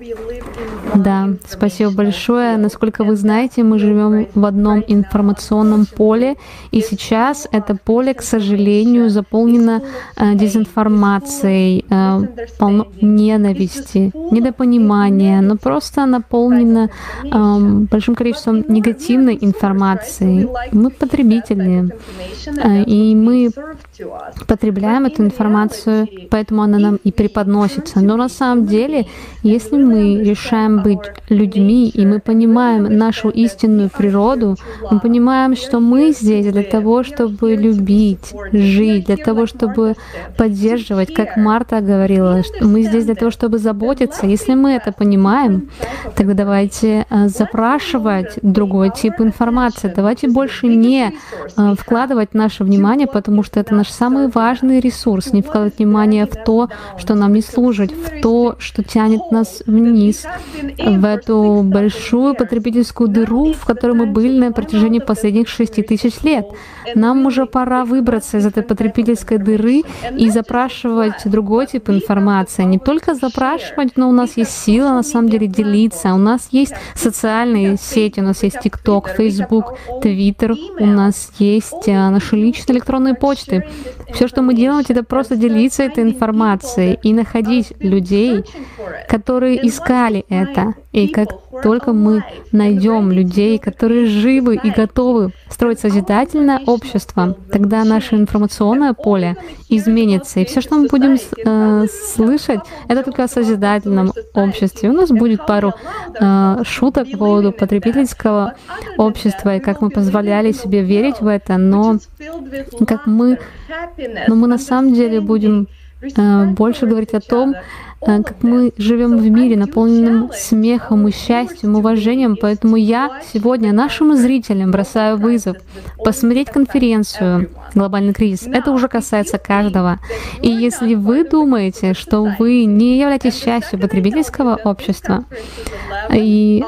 Да, спасибо большое. Насколько вы знаете, мы живем в одном информационном поле, и сейчас это поле, к сожалению, заполнено э, дезинформацией, э, полно ненависти, недопонимания, но просто наполнено э, большим количеством негативной информации. Мы потребители, э, и мы потребляем эту информацию, поэтому она нам и преподносится. Но на самом деле, если мы решаем быть людьми, и мы понимаем нашу истинную природу, мы понимаем, что мы здесь для того, чтобы любить, жить, для того, чтобы поддерживать, как Марта говорила, что мы здесь для того, чтобы заботиться. Если мы это понимаем, тогда давайте запрашивать другой тип информации. Давайте больше не вкладывать наше внимание, потому что это наш самый важный ресурс, не вкладывать внимание в то, что нам не служит, в то, что тянет нас вниз, в эту большую потребительскую дыру, в которой мы были на протяжении последних шести тысяч лет. Нам уже пора выбраться из этой потребительской дыры и запрашивать другой тип информации. Не только запрашивать, но у нас есть сила на самом деле делиться. У нас есть социальные сети, у нас есть TikTok, Facebook, Twitter, у нас есть наши личные электронные почты. Все, что мы делаем, это просто делиться этой информацией и находить людей, которые искали это. И как только мы найдем людей, которые живы и готовы строить созидательное общество, тогда наше информационное поле изменится. И все, что мы будем э, слышать, это только о созидательном обществе. У нас будет пару э, шуток по поводу потребительского общества и как мы позволяли себе верить в это, но как мы, но мы на самом деле будем э, больше говорить о том, как мы живем в мире, наполненном смехом и счастьем, уважением. Поэтому я сегодня нашим зрителям бросаю вызов посмотреть конференцию «Глобальный кризис». Это уже касается каждого. И если вы думаете, что вы не являетесь частью потребительского общества, и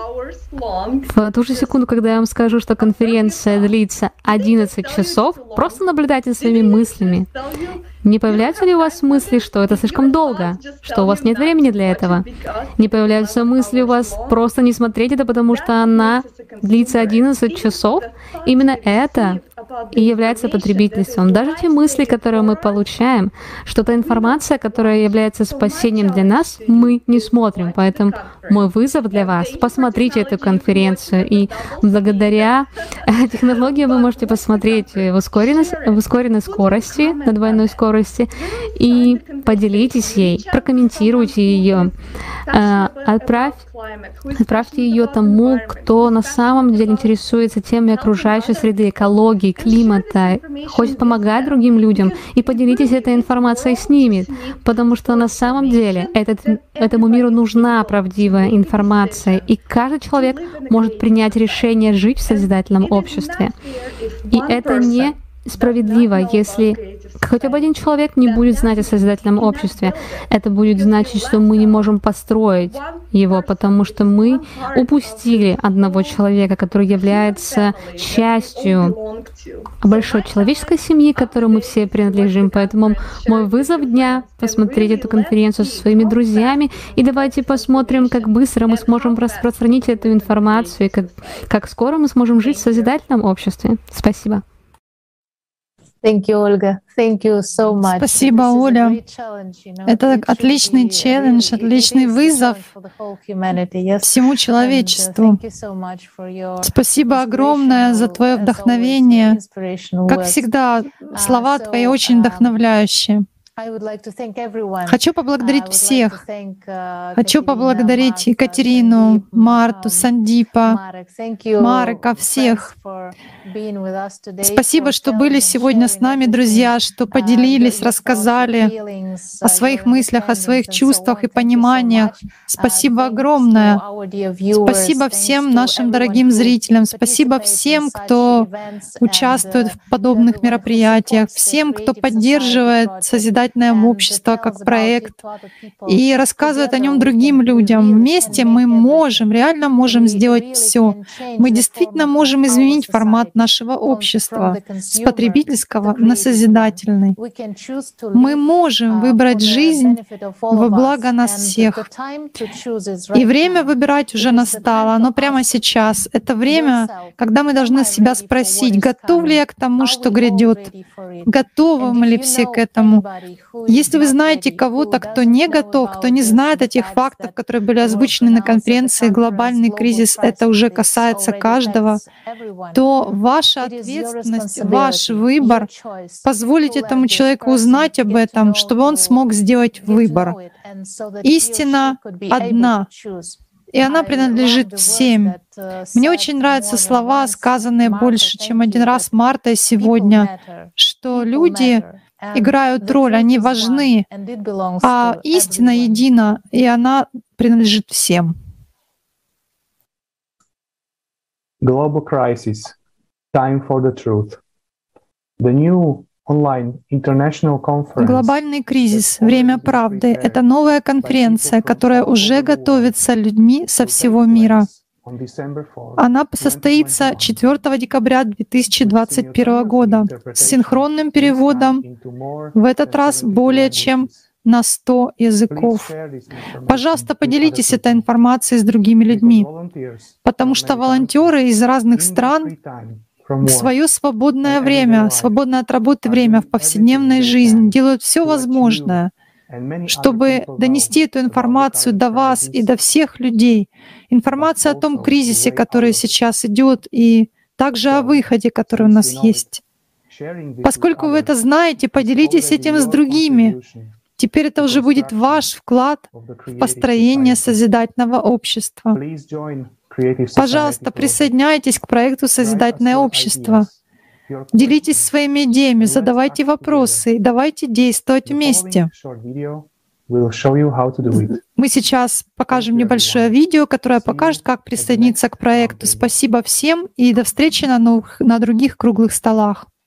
в ту же секунду, когда я вам скажу, что конференция длится одиннадцать часов, просто наблюдайте своими мыслями. Не появляются ли у вас мысли, что это слишком долго, что у вас нет времени для этого? Не появляются мысли у вас просто не смотреть это, потому что она длится одиннадцать часов? Именно это и является потребительством. Даже те мысли, которые мы получаем, что-то информация, которая является спасением для нас, мы не смотрим. Поэтому мой вызов для вас — посмотрите эту конференцию. И благодаря технологии вы можете посмотреть в ускоренной, в ускоренной скорости, на двойной скорости, и поделитесь ей, прокомментируйте ее, отправь, отправьте ее тому, кто на самом деле интересуется темой окружающей среды, экологии, климата, хочет помогать другим людям, и поделитесь этой информацией с ними, потому что на самом деле этот, этому миру нужна правдивая информация, и каждый человек может принять решение жить в созидательном обществе. И это не справедливо, если хотя бы один человек не будет знать о созидательном обществе. Это будет значить, что мы не можем построить его, потому что мы упустили одного человека, который является частью большой человеческой семьи, к которой мы все принадлежим. Поэтому мой вызов дня — посмотреть эту конференцию со своими друзьями, и давайте посмотрим, как быстро мы сможем распространить эту информацию, и как, как скоро мы сможем жить в созидательном обществе. Спасибо. Thank you, Olga. Thank you so much. Спасибо, Оля. Это отличный челлендж, отличный вызов всему человечеству. Спасибо огромное за твое вдохновение. Как всегда, слова твои очень вдохновляющие. Хочу поблагодарить всех. Хочу поблагодарить Екатерину, Марту, Сандипа, Марека, всех. Спасибо, что были сегодня с нами, друзья, что поделились, рассказали о своих мыслях, о своих чувствах и пониманиях. Спасибо огромное. Спасибо всем нашим дорогим зрителям. Спасибо всем, кто участвует в подобных мероприятиях, всем, кто поддерживает созидательность созидательное общество как проект и рассказывает о нем другим людям. Вместе мы можем, реально можем сделать все. Мы действительно можем изменить формат нашего общества с потребительского на созидательный. Мы можем выбрать жизнь во благо нас всех. И время выбирать уже настало, оно прямо сейчас. Это время, когда мы должны себя спросить, готов ли я к тому, что грядет, готовы ли все к этому. Если вы знаете кого-то, кто не готов, кто не знает этих фактов, которые были озвучены на конференции «Глобальный кризис», это уже касается каждого, то ваша ответственность, ваш выбор — позволить этому человеку узнать об этом, чтобы он смог сделать выбор. Истина одна, и она принадлежит всем. Мне очень нравятся слова, сказанные больше, чем один раз Мартой сегодня, что люди играют роль, они важны, а истина едина, и она принадлежит всем. Global crisis. Time for the truth. The new Глобальный кризис, время правды — это новая конференция, которая уже готовится людьми со всего мира. Она состоится четвёртого декабря две тысячи двадцать первого года с синхронным переводом, в этот раз более чем на сто языков. Пожалуйста, поделитесь этой информацией с другими людьми, потому что волонтеры из разных стран в свое свободное время, свободное от работы время в повседневной жизни делают все возможное, чтобы донести эту информацию до вас и до всех людей. Информация о том кризисе, который сейчас идет, и также о выходе, который у нас есть. Поскольку вы это знаете, поделитесь этим с другими. Теперь это уже будет ваш вклад в построение созидательного общества. Пожалуйста, присоединяйтесь к проекту «Созидательное общество». Делитесь своими идеями, задавайте вопросы и давайте действовать вместе. Мы сейчас покажем небольшое видео, которое покажет, как присоединиться к проекту. Спасибо всем и до встречи на новых, на других круглых столах.